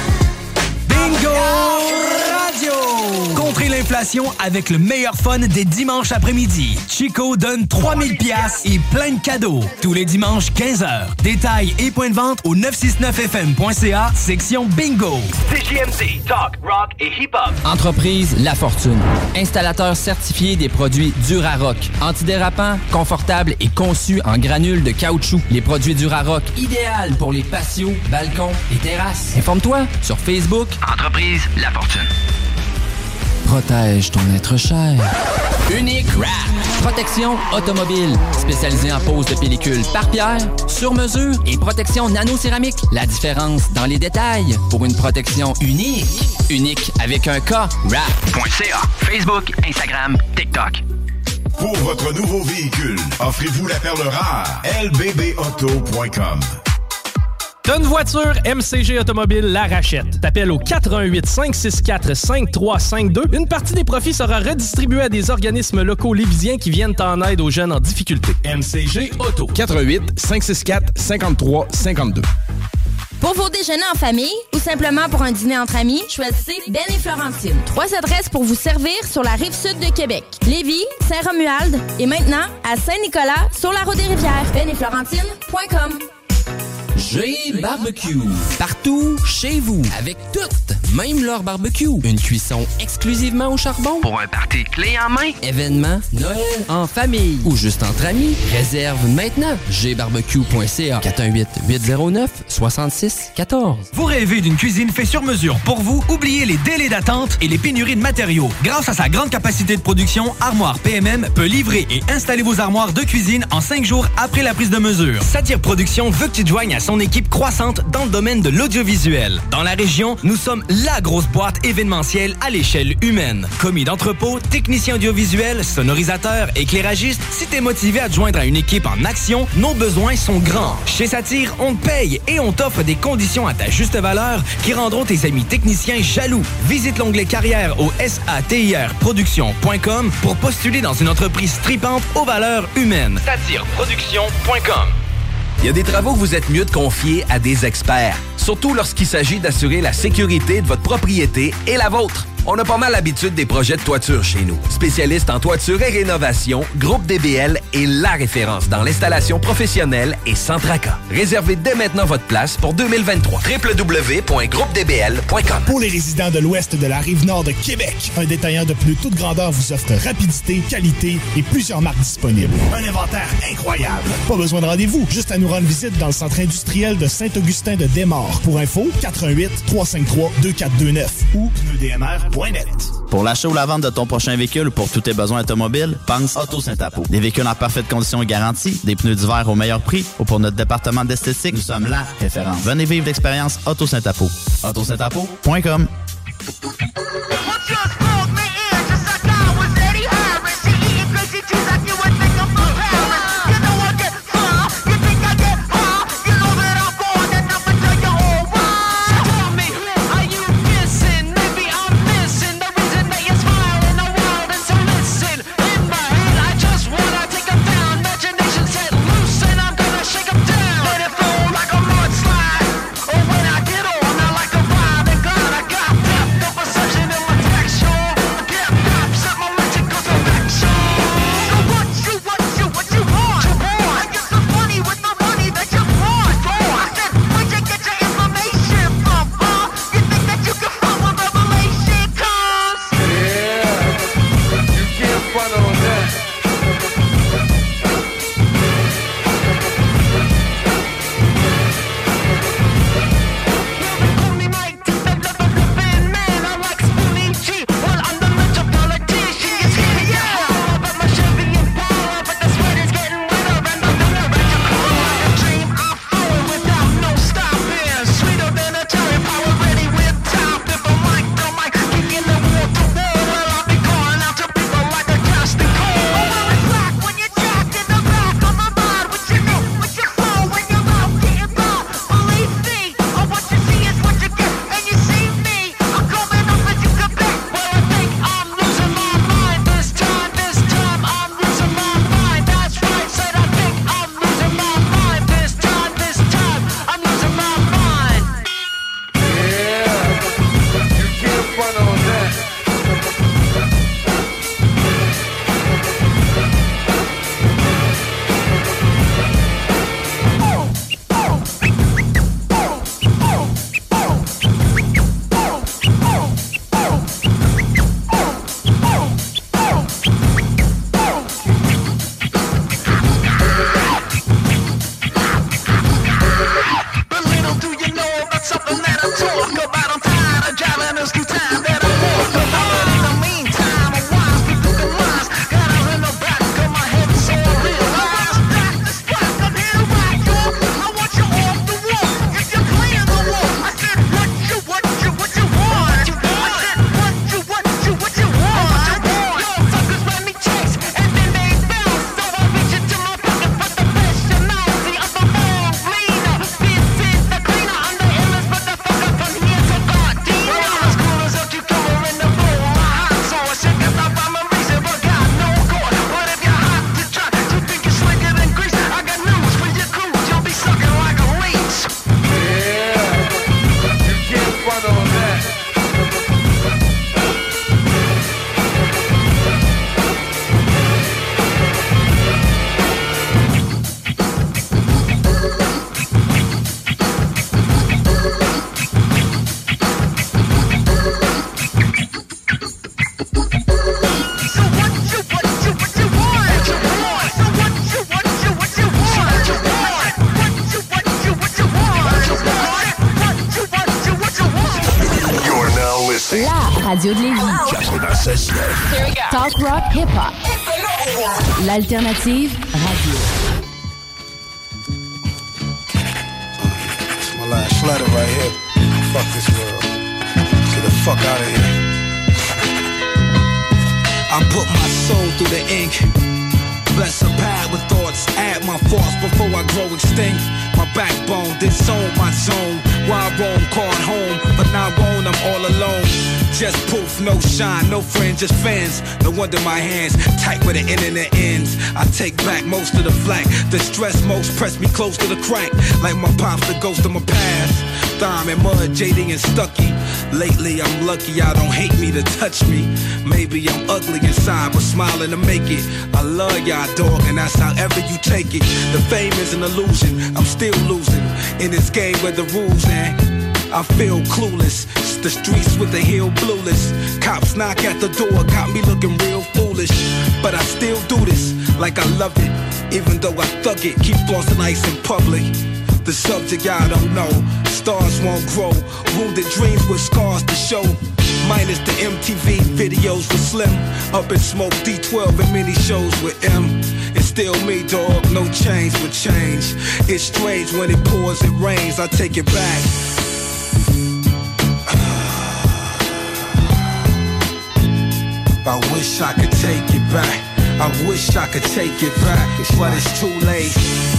Bingo Radio! Contrez l'inflation avec le meilleur fun des dimanches après-midi. Chico donne 3000 pièces et plein de cadeaux. Tous les dimanches, 15h. Détails et points de vente au 969fm.ca, section Bingo. CJMD, talk, rock et hip-hop. Entreprise La Fortune. Installateur certifié des produits Durarock. Antidérapant, confortable et conçu en granules de caoutchouc. Les produits Durarock, idéal pour les patios, balcons et terrasses. Informe-toi sur Facebook. Entreprise La Fortune. Protège ton être cher. Unique Wrap. Protection automobile. Spécialisée en pose de pellicule par pierre, sur mesure et protection nano-céramique. La différence dans les détails pour une protection unique. Unique avec un K. Wrap.ca. Facebook, Instagram, TikTok. Pour votre nouveau véhicule, offrez-vous la perle rare. lbbauto.com. T'as une voiture, MCG Automobile la rachète. T'appelles au 88 564 5352. Une partie des profits sera redistribuée à des organismes locaux lévisiens qui viennent en aide aux jeunes en difficulté. MCG Auto. 88 564 53 52. Pour vos déjeuners en famille ou simplement pour un dîner entre amis, choisissez Ben et Florentine. 3 adresses pour vous servir sur la Rive-Sud de Québec. Lévis, Saint-Romuald et maintenant à Saint-Nicolas sur la Route-des-Rivières. benetflorentine.com. G-Barbecue. Partout, chez vous, avec toutes, même leur barbecue. Une cuisson exclusivement au charbon. Pour un party clé en main. Événement, Noël, en famille ou juste entre amis. Réserve maintenant. gbarbecue.ca 418-809-6614. Vous rêvez d'une cuisine faite sur mesure pour vous? Oubliez les délais d'attente et les pénuries de matériaux. Grâce à sa grande capacité de production, Armoire PMM peut livrer et installer vos armoires de cuisine en 5 jours après la prise de mesure. Satire Production veut que tu te joignes à son équipe croissante dans le domaine de l'audiovisuel. Dans la région, nous sommes la grosse boîte événementielle à l'échelle humaine. Commis d'entrepôt, technicien audiovisuel, sonorisateur, éclairagiste, si t'es motivé à te joindre à une équipe en action, nos besoins sont grands. Chez Satire, on te paye et on t'offre des conditions à ta juste valeur qui rendront tes amis techniciens jaloux. Visite l'onglet carrière au satirproduction.com pour postuler dans une entreprise tripante aux valeurs humaines. Satireproduction.com. Il y a des travaux que vous êtes mieux de confier à des experts, surtout lorsqu'il s'agit d'assurer la sécurité de votre propriété et la vôtre. On a pas mal l'habitude des projets de toiture chez nous. Spécialiste en toiture et rénovation, Groupe DBL est la référence dans l'installation professionnelle et sans tracas. Réservez dès maintenant votre place pour 2023. www.groupedbl.com. Pour les résidents de l'ouest de la Rive-Nord de Québec, un détaillant de pneus toute grandeur vous offre rapidité, qualité et plusieurs marques disponibles. Un inventaire incroyable. Pas besoin de rendez-vous, juste à nous rendre visite dans le centre industriel de Saint-Augustin de Desmaures. Pour info, 88 353 2429 ou pneudmr.com. autosaintapo.net. Pour l'achat ou la vente de ton prochain véhicule ou pour tous tes besoins automobiles, pense Auto Saint-Apo. Des véhicules en parfaite condition et garantie, des pneus d'hiver au meilleur prix ou pour notre département d'esthétique, nous sommes la référence. Venez vivre l'expérience Auto Saint-Apo. autosaintapo.com. Radio de Lévis. 96.9. Talk rock hip-hop. L'alternative radio. It's my last letter right here. Fuck this world. Get the fuck out of here. I put my soul through the ink. Bless a pad with thoughts, add my force before I grow extinct. My backbone, disown my zone. Why I roam, called home, but now won't, I'm all alone. Just poof, no shine, no friends, just fans. No wonder my hands tight where the internet ends. I take back most of the flack. The stress most press me close to the crack. Like my pops, the ghost of my past. Thyme and mud, JD and Stucky. Lately I'm lucky, y'all don't hate me to touch me. Maybe I'm ugly inside, but smiling to make it. I love y'all, dog, and that's however you take it. The fame is an illusion, I'm still losing. In this game where the rules ain't, I feel clueless. It's the streets with the heel blueless. Cops knock at the door, got me looking real foolish. But I still do this like I love it. Even though I thug it, keep flossing ice in public. The subject y'all don't know, stars won't grow. Wounded dreams with scars to show. minus the MTV videos with Slim. Up in smoke D12 and mini shows with M. It's still me, dog, no change but change. It's strange when it pours, it rains, I take it back. I wish I could take it back. I wish I could take it back, but it's too late.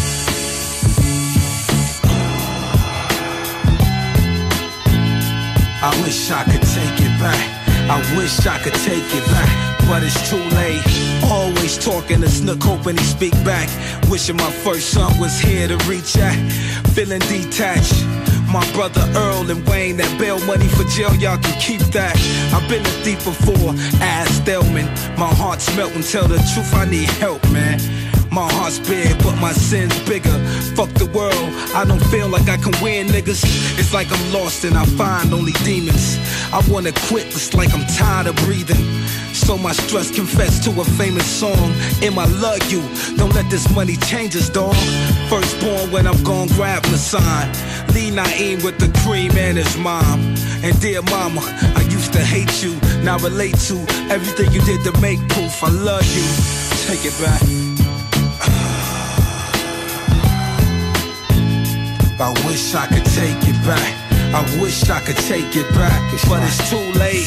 I wish I could take it back. I wish I could take it back, but it's too late. Always talking to Snook, hoping he speak back. Wishing my first son was here to reach out. Feeling detached. My brother Earl and Wayne, that bail money for jail, y'all can keep that. I've been a thief before, ass Delman. My heart's melting, tell the truth, I need help, man. My heart's big, but my sin's bigger. Fuck the world, I don't feel like I can win, niggas. It's like I'm lost and I find only demons. I wanna quit, it's like I'm tired of breathing. So my stress confess to a famous song. I love you, don't let this money change us, dawg. Firstborn when I'm gon' grab the sign. Lee Naeem with the cream and his mom. And dear mama, I used to hate you, now relate to everything you did to make proof. I love you, take it back. I wish I could take it back. I wish I could take it back, but it's too late.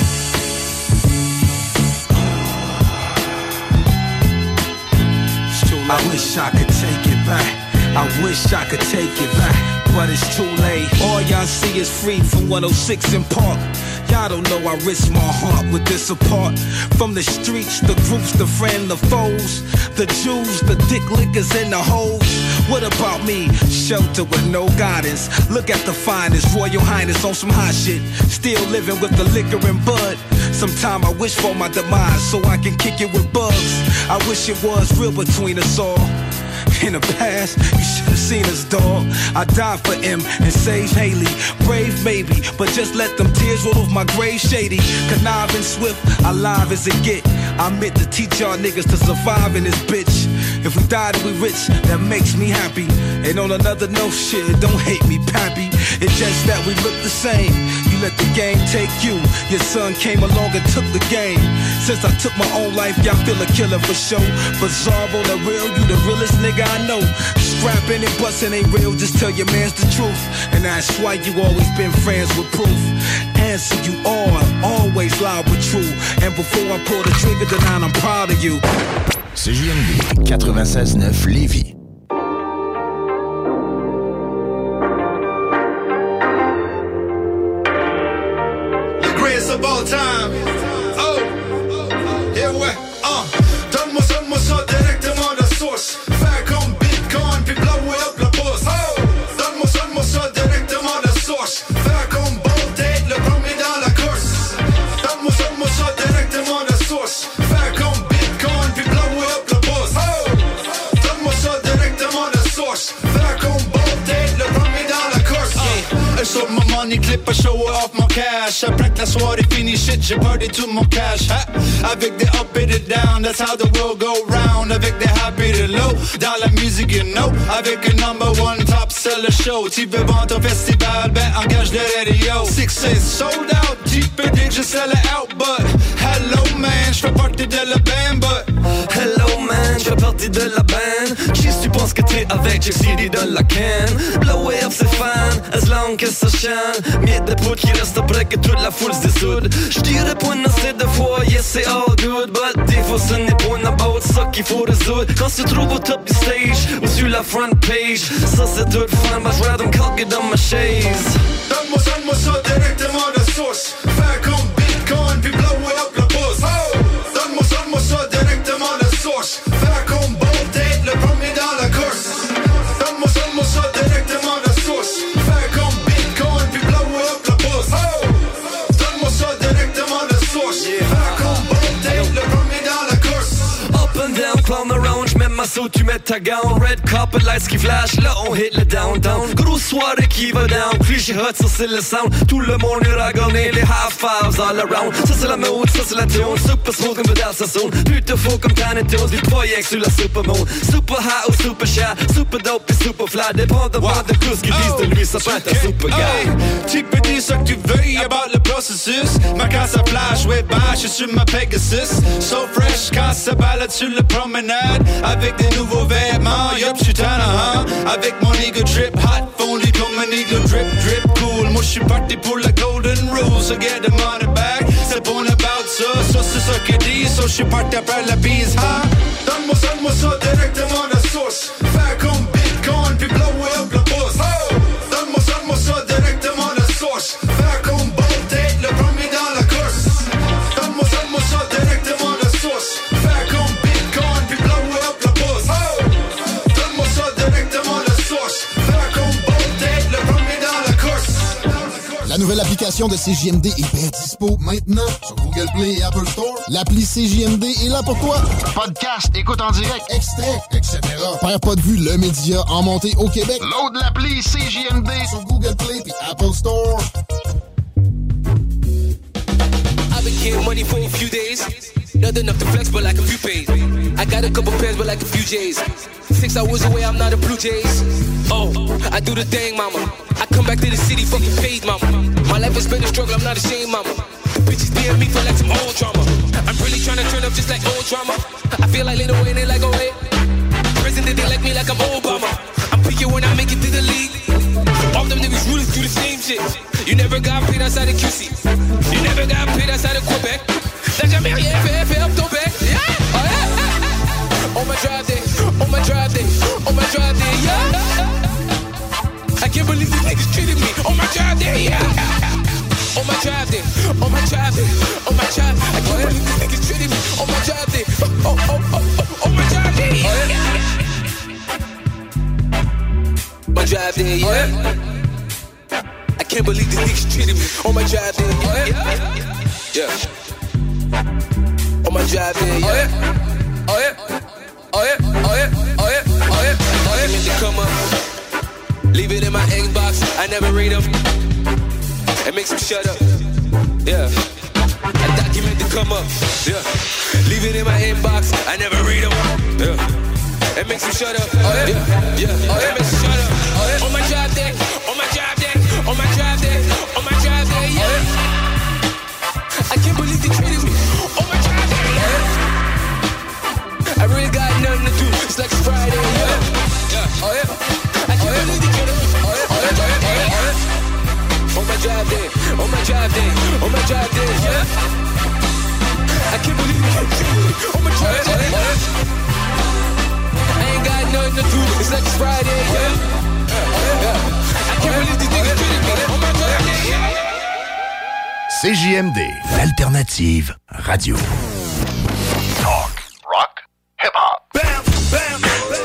I wish I could take it back. I wish I could take it back, but it's too late. All y'all see is free from 106 in Park. Y'all don't know I risk my heart with this apart. From the streets, the groups, the friends, the foes, the Jews, the dick lickers and the hoes. What about me? Shelter with no guidance. Look at the finest, Royal Highness on some hot shit. Still living with the liquor and bud. Sometime I wish for my demise so I can kick it with bugs. I wish it was real between us all. In the past, you should have seen us, dog. I died for him and saved Haley. Brave maybe, but just let them tears roll off my grave shady. Conniving swift, alive as it get. I meant to teach y'all niggas to survive in this bitch. If we die then we rich, that makes me happy. And on another note, shit, don't hate me, pappy. It's just that we look the same. You let the game take you. Your son came along and took the game. Since I took my own life, y'all feel a killer for show. Bizarro, the real, you the realest nigga I know. Scrapping and busting ain't real, just tell your mans the truth. And that's why you always been friends with proof. Answer you all, always loud but true. And before I pull the trigger tonight, I'm proud of you. CJMD 96.9 Lévis. The greatest of all time. Oh, yeah, ouais. Donne-moi ça directement de source. Faire comme Bitcoin puis blower up la bourse. Oh, donne-moi ça directement de source. Faire comme Bolt Date, le premier dans la course. Donne-moi ça directement de source. Faire comme Bitcoin puis blower up la bourse. Oh, donne-moi ça directement de source. Faire comme Bolt Date, le premier dans la course. Un saut mon money clip, I show off mon cash. Après que la soirée finie, shit, j'ai perdu tout mon cash. Avec des up et des down, that's how the world go round. Avec des happy et des low, dans la musique you know. Avec un number one top seller show. Tu veux vendre ton festival, ben engage le radio. 6 sold out, JPD, je sell it out. But hello man, j'fais partie de la band. But hello man, j'fais partie de la band. Qui tu penses que t'es avec, j'ai CD de la can. Blow up c'est fan, as long que ça chante. Miette de poudre qui reste après que toute la foule se dessoude. J'dirais pas une assez de fois, yes c'est all good. But des fois ce n'est pas une about ça qu'il faut résoudre. Quand tu te trouves au top du stage ou sur la front page, ça c'est tout fun, but I'd rather calque dans ma chaise. Donne-moi ça directement de source. Faire comme Bitcoin puis blower up la bourse. Oh, donne-moi ça directement de source. Faire comme Bolt Date, le premier dans la course. Donne-moi ça directement de source. Faire comme Bitcoin puis blower up la bourse. Oh, donne-moi ça directement de source. Faire comme Bolt Date, le premier dans la course. Up and down, clown around, j'mets ma suit, tu mets ta gown. Red carpet lights qui flash, là on hit le downtown. Grosse soirée qui va down, cliché hot, ça c'est le sound. Tout le monde est ragonné, les high fives all around. Ça c'est la mode, ça c'est la tune. Super smooth comme dans sa zone. Plutôt faux comme Tiny Toons, des voyages sur la supermoon. Super high ou super shy, super dope et super fly. Dépendamment de tout ce qu'ils disent de lui, ça peut être un super guy. Tu peux dire ce que tu veux, about le boss processus. Ma casse à flash, ouais, bah, j'suis sur ma Pegasus. So fresh, quand ça balade sur la promenade. Avec des nouveaux vêtements, yup, j'suis tannant, avec mon ego drip, hot, fondu comme un eagle drip, drip, cool. Moi j'suis parti pour la golden rule, so get the money back. C'est bon about ça, c'est ça que dit, so j'suis parti après la bise, hein. Donne-moi ça directement de source. Faire comme Bitcoin, puis blow up la bourse. Oh! Donne-moi ça directement de source. Faire comme Bolt, le premier dans la course. Donne-moi ça directement de source. Faire comme Bitcoin, puis blow up la bourse. Oh! Donne-moi ça directement de source. Faire comme Bolt, le premier dans la course. La nouvelle application de CJMD est bien dispo maintenant sur Google Play et Apple Store. L'appli CJMD est là pour toi. Podcast, écoute en direct, extrait, etc. Perds pas de vue, le média en montée au Québec. Load l'appli CJMD sur Google Play et Apple Store. I've been getting money for a few days. Not enough to flex, but like a few pays. I got a couple pairs, but like a few J's. 6 hours away, I'm not a Blue Jays. Oh, I do the thing, mama. I come back to the city, fucking paid, mama. My life has been a struggle, I'm not ashamed, mama. The bitches DM me for like some old drama. I'm really trying to turn up just like old drama. I feel like Lil Wayne, they like, oh wait. Prison, they like me like I'm Obama. I'm picking when I make it to the league. All them niggas really do the same shit. You never got paid outside of QC. You never got paid outside of Quebec. T'as jamais rien fait up ton bec. Yeah. Oh, yeah. On my drive day, on my drive day, on my drive day, yeah. I can't believe these niggas treated me on my drive day, yeah. On my drive day, on my drive day, on my drive. I can't believe these niggas treated me on my drive day. On my drive day, yeah. My drive day, yeah. I can't believe these niggas treated me on my drive day, yeah. On my drive day, yeah. Oh yeah, oh yeah, oh yeah, oh yeah, oh yeah, oh yeah. They come up, leave it in my inbox. I never read them. It makes them shut up. Yeah. I document to come up. Yeah. Leave it in my inbox. I never read them. Yeah. It makes them shut up. Oh yeah, yeah. Oh yeah. It makes them shut up. Oh yeah. On my job day, on my job day, on my job day, on my job day. Yeah. Oh yeah. I can't believe they treated me. On my job day. Oh yeah. I really got nothing to do. It's like Friday. Yeah. Oh yeah. I can't believe they treated me. Oh yeah. Oh yeah. Oh yeah. Oh yeah. On my job day, on my job day, on my job day, yeah. I can't believe you treated me on my job day. I ain't got nothing to do. It's like it's Friday, yeah. I can't believe these niggas treated me on my job day, yeah. CJMD, l'alternative radio. Talk, rock, hip-hop. Bam, bam,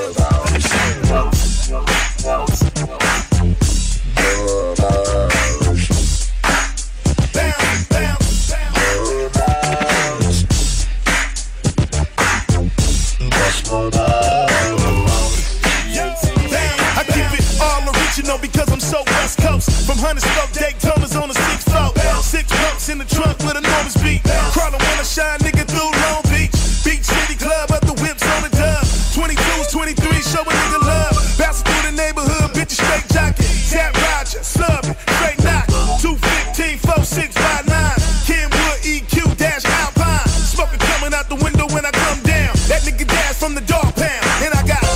because I'm so West Coast. From Huntersville, Daytona's on the 6th floor. 6 pumps in the trunk with enormous beat. Crawling when I shine, nigga, through Long Beach. Beach City Club, up the whips on the dub. 22s, 23s, show a nigga love. Bouncing through the neighborhood, bitches straight jockey. Tap Roger, sub it, straight knock. 215, 4659. Kenwood, EQ, dash Alpine. Smoking coming out the window when I come down. That nigga dash from the dog pound. And I got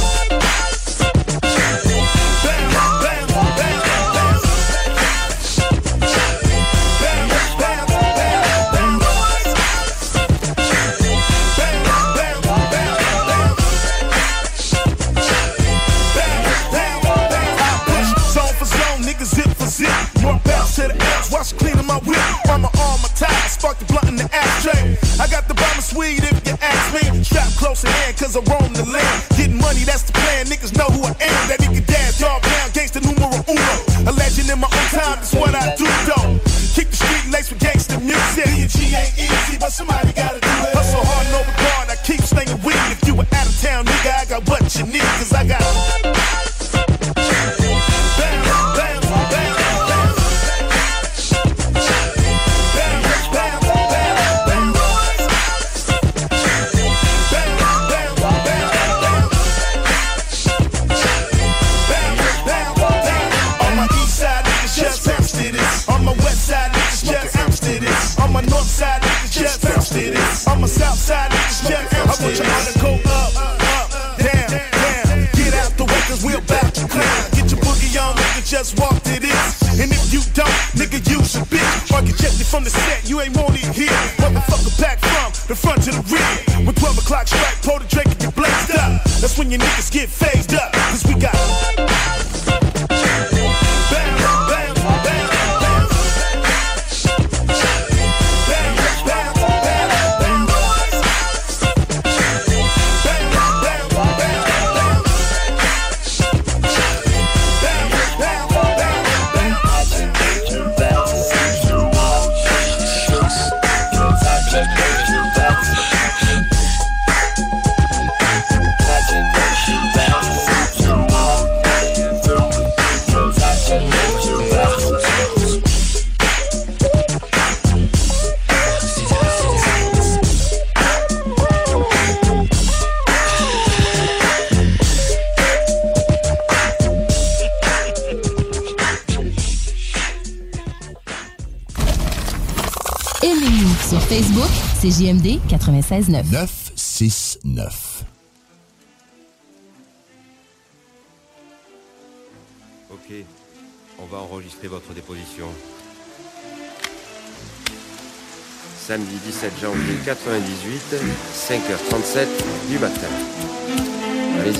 cleaning my whip, on my arm, my tie, spark the blunt in the ashtray. I got the bomber sweet if you ask me. Strap close in hand, cause I roam the land. Getting money, that's the plan, niggas know who I am. That nigga dad, dog pound, gangsta numero uno. A legend in my own time, that's what I do, though. Keep the street laced with gangsta music. B&G ain't easy, but somebody gotta do it. Hustle hard, no regard, I keep slinging weed. If you were out of town, nigga, I got what you need, cause I got it is. And if you don't, nigga, use a bitch. Market check me from the set, you ain't want it here. Motherfucker back from the front to the rear. When 12 o'clock strike, pour the drink and get blazed up. That's when your niggas get phased up. Cause we got Facebook, c'est JMD 96.9. 969. Ok, on va enregistrer votre déposition. Samedi 17 janvier 98, 5h37 du matin. Allez-y.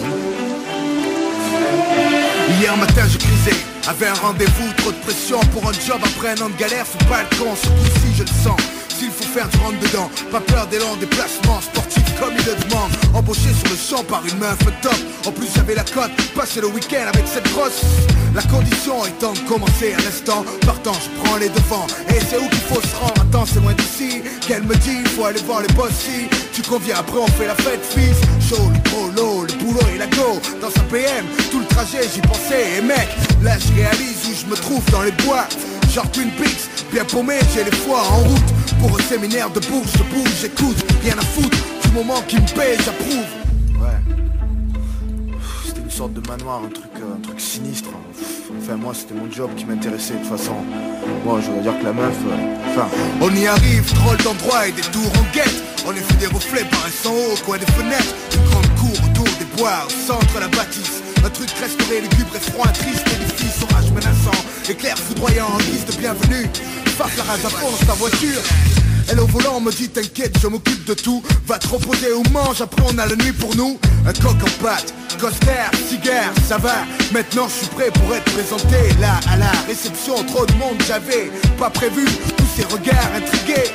Hier matin je crisais, avait un rendez-vous, trop de pression pour un job après un an de galère, c'est pas le con, ce coup-ci je le sens. S'il faut faire du rentre-dedans, pas peur des longs déplacements sportifs comme il le demande. Embauché sur le champ par une meuf top. En plus j'avais la cote, passer le week-end avec cette grosse. La condition étant de commencer à l'instant. Partant je prends les devants. Et c'est où qu'il faut se rendre? Attends c'est loin d'ici. Qu'elle me dit, faut aller voir les boss si tu conviens après on fait la fête fils. Chaud, le polo, le boulot et la go. Dans sa PM, tout le trajet j'y pensais. Et mec, là je réalise où je me trouve dans les bois. Genre Twin Peaks, bien paumé, j'ai les foies en route. Pour un séminaire de bourse, je bouge, j'écoute. Rien à foutre, du moment qui me paye, j'approuve. Ouais. C'était une sorte de manoir, un truc sinistre. Enfin moi c'était mon job qui m'intéressait de toute façon. Moi je veux dire que la meuf, enfin. On y arrive, drôle d'endroit et des tours en guette. On est fait des reflets paraissant haut, au coin des fenêtres. Une grande cour autour des bois, au centre la bâtisse. Un truc restauré, lugubre et froid, triste, édifice, orage menaçant. Éclair foudroyant en guise de bienvenue. Farce la rage à fond dans ta voiture. Elle au volant me dit t'inquiète je m'occupe de tout. Va te reposer ou mange, après on a la nuit pour nous. Un coq en pâte, coster, cigare, ça va. Maintenant je suis prêt pour être présenté. Là à la réception, trop de monde j'avais pas prévu. Tous ces regards intrigués.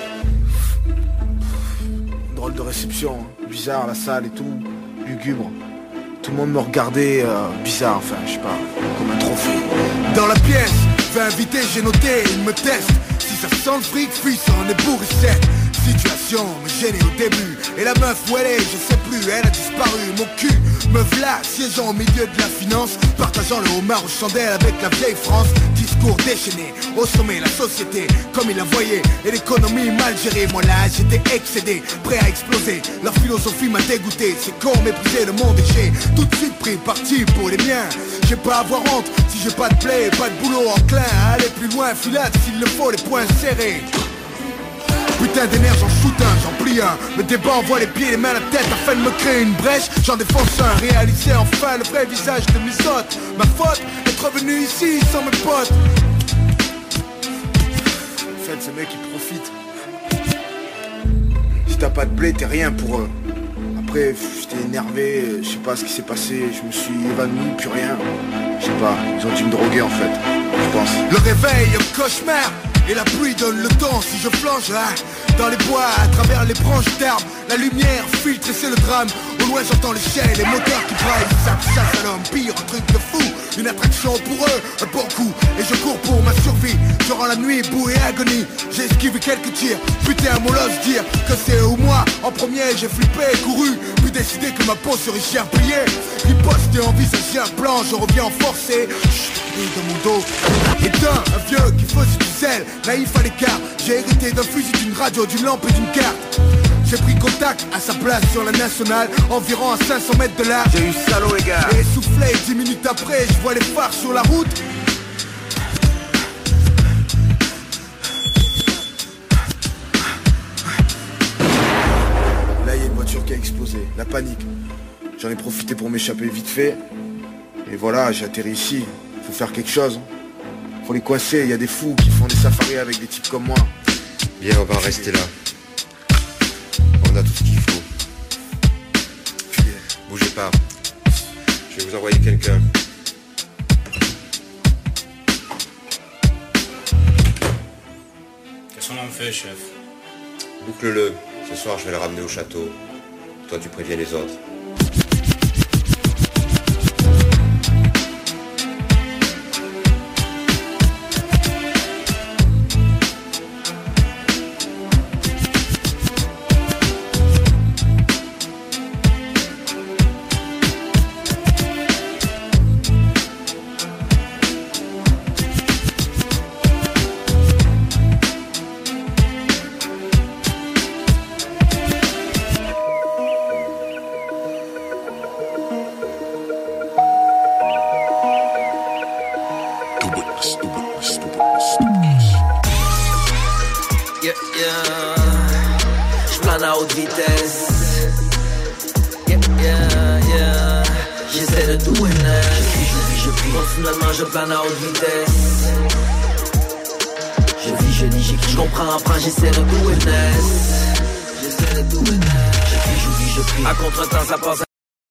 Drôle de réception, bizarre la salle et tout, lugubre. Tout le monde me regardait bizarre, enfin je sais pas, comme un trophée. Dans la pièce, vais inviter, j'ai noté, il me teste. Si ça sent le fric, fuis, ça en est bourricette. Situation me gênait au début. Et la meuf où elle est, je sais plus, elle a disparu. Mon cul me v'là, siégeant au milieu de la finance. Partageant le homard aux chandelles avec la vieille France. Discours déchaîné, au sommet la société comme il la voyait. Et l'économie mal gérée, moi là j'étais excédé, prêt à exploser. Leur philosophie m'a dégoûté, c'est con, méprisé, le monde et j'ai tout de suite pris parti pour les miens. J'ai pas à avoir honte, si j'ai pas de play, pas de boulot enclin à aller plus loin, filade s'il le faut, les poings serrés. Putain d'énergie, j'en shoot un, j'en plie un. Me débat, envoie les pieds, les mains, la tête afin de me créer une brèche. J'en défonce un, réaliser enfin le vrai visage de mes hôtes. Ma faute, être venu ici sans mes potes. En fait, ces mecs ils profitent. Si t'as pas de blé, t'es rien pour eux. Après, j'étais énervé, je sais pas ce qui s'est passé, je me suis évanoui, plus rien. Je sais pas, ils ont dû me droguer en fait, je pense. Le réveil, un cauchemar. Et la pluie donne le temps si je flanche là. Dans les bois, à travers les branches d'arbres. La lumière filtre et c'est le drame. Au loin j'entends les chiens et les moteurs qui braillent. Ça chasse à l'homme, pire, un truc de fou. Une attraction pour eux, un bon coup. Et je cours pour ma survie. Durant la nuit, boue et agonie. J'ai esquivé quelques tirs. Putain, mon l'ose dire que c'est eux ou moi. En premier, j'ai flippé, couru. Puis décidé que ma peau serait cherpillée. Riposte et envisager un plan, je reviens en forcé. Dans mon dos. Et un vieux qui faisait du sel, naïf à l'écart. J'ai hérité d'un fusil, d'une radio, d'une lampe et d'une carte. J'ai pris contact à sa place sur la nationale, environ à 500 mètres de là. J'ai eu salaud les gars. Et essoufflé, 10 minutes après, je vois les phares sur la route. Là il y a une voiture qui a explosé, la panique. J'en ai profité pour m'échapper vite fait. Et voilà, j'ai atterri ici. Faut faire quelque chose. Faut les coincer, y a des fous qui font des safaris avec des types comme moi. Bien, on va en rester là. On a tout ce qu'il faut. Bougez pas. Je vais vous envoyer quelqu'un. Qu'est-ce qu'on en fait, chef? Boucle-le. Ce soir, je vais le ramener au château. Toi, tu préviens les autres. J'plane à haute vitesse. J'essaie de tout et je prie. Continuellement je plane à haute vitesse. Je vis, je lis, j'écris, je comprends, apprends, j'essaie de tout et j'essaie de tout et je vis, je prie. À contre-temps ça passe.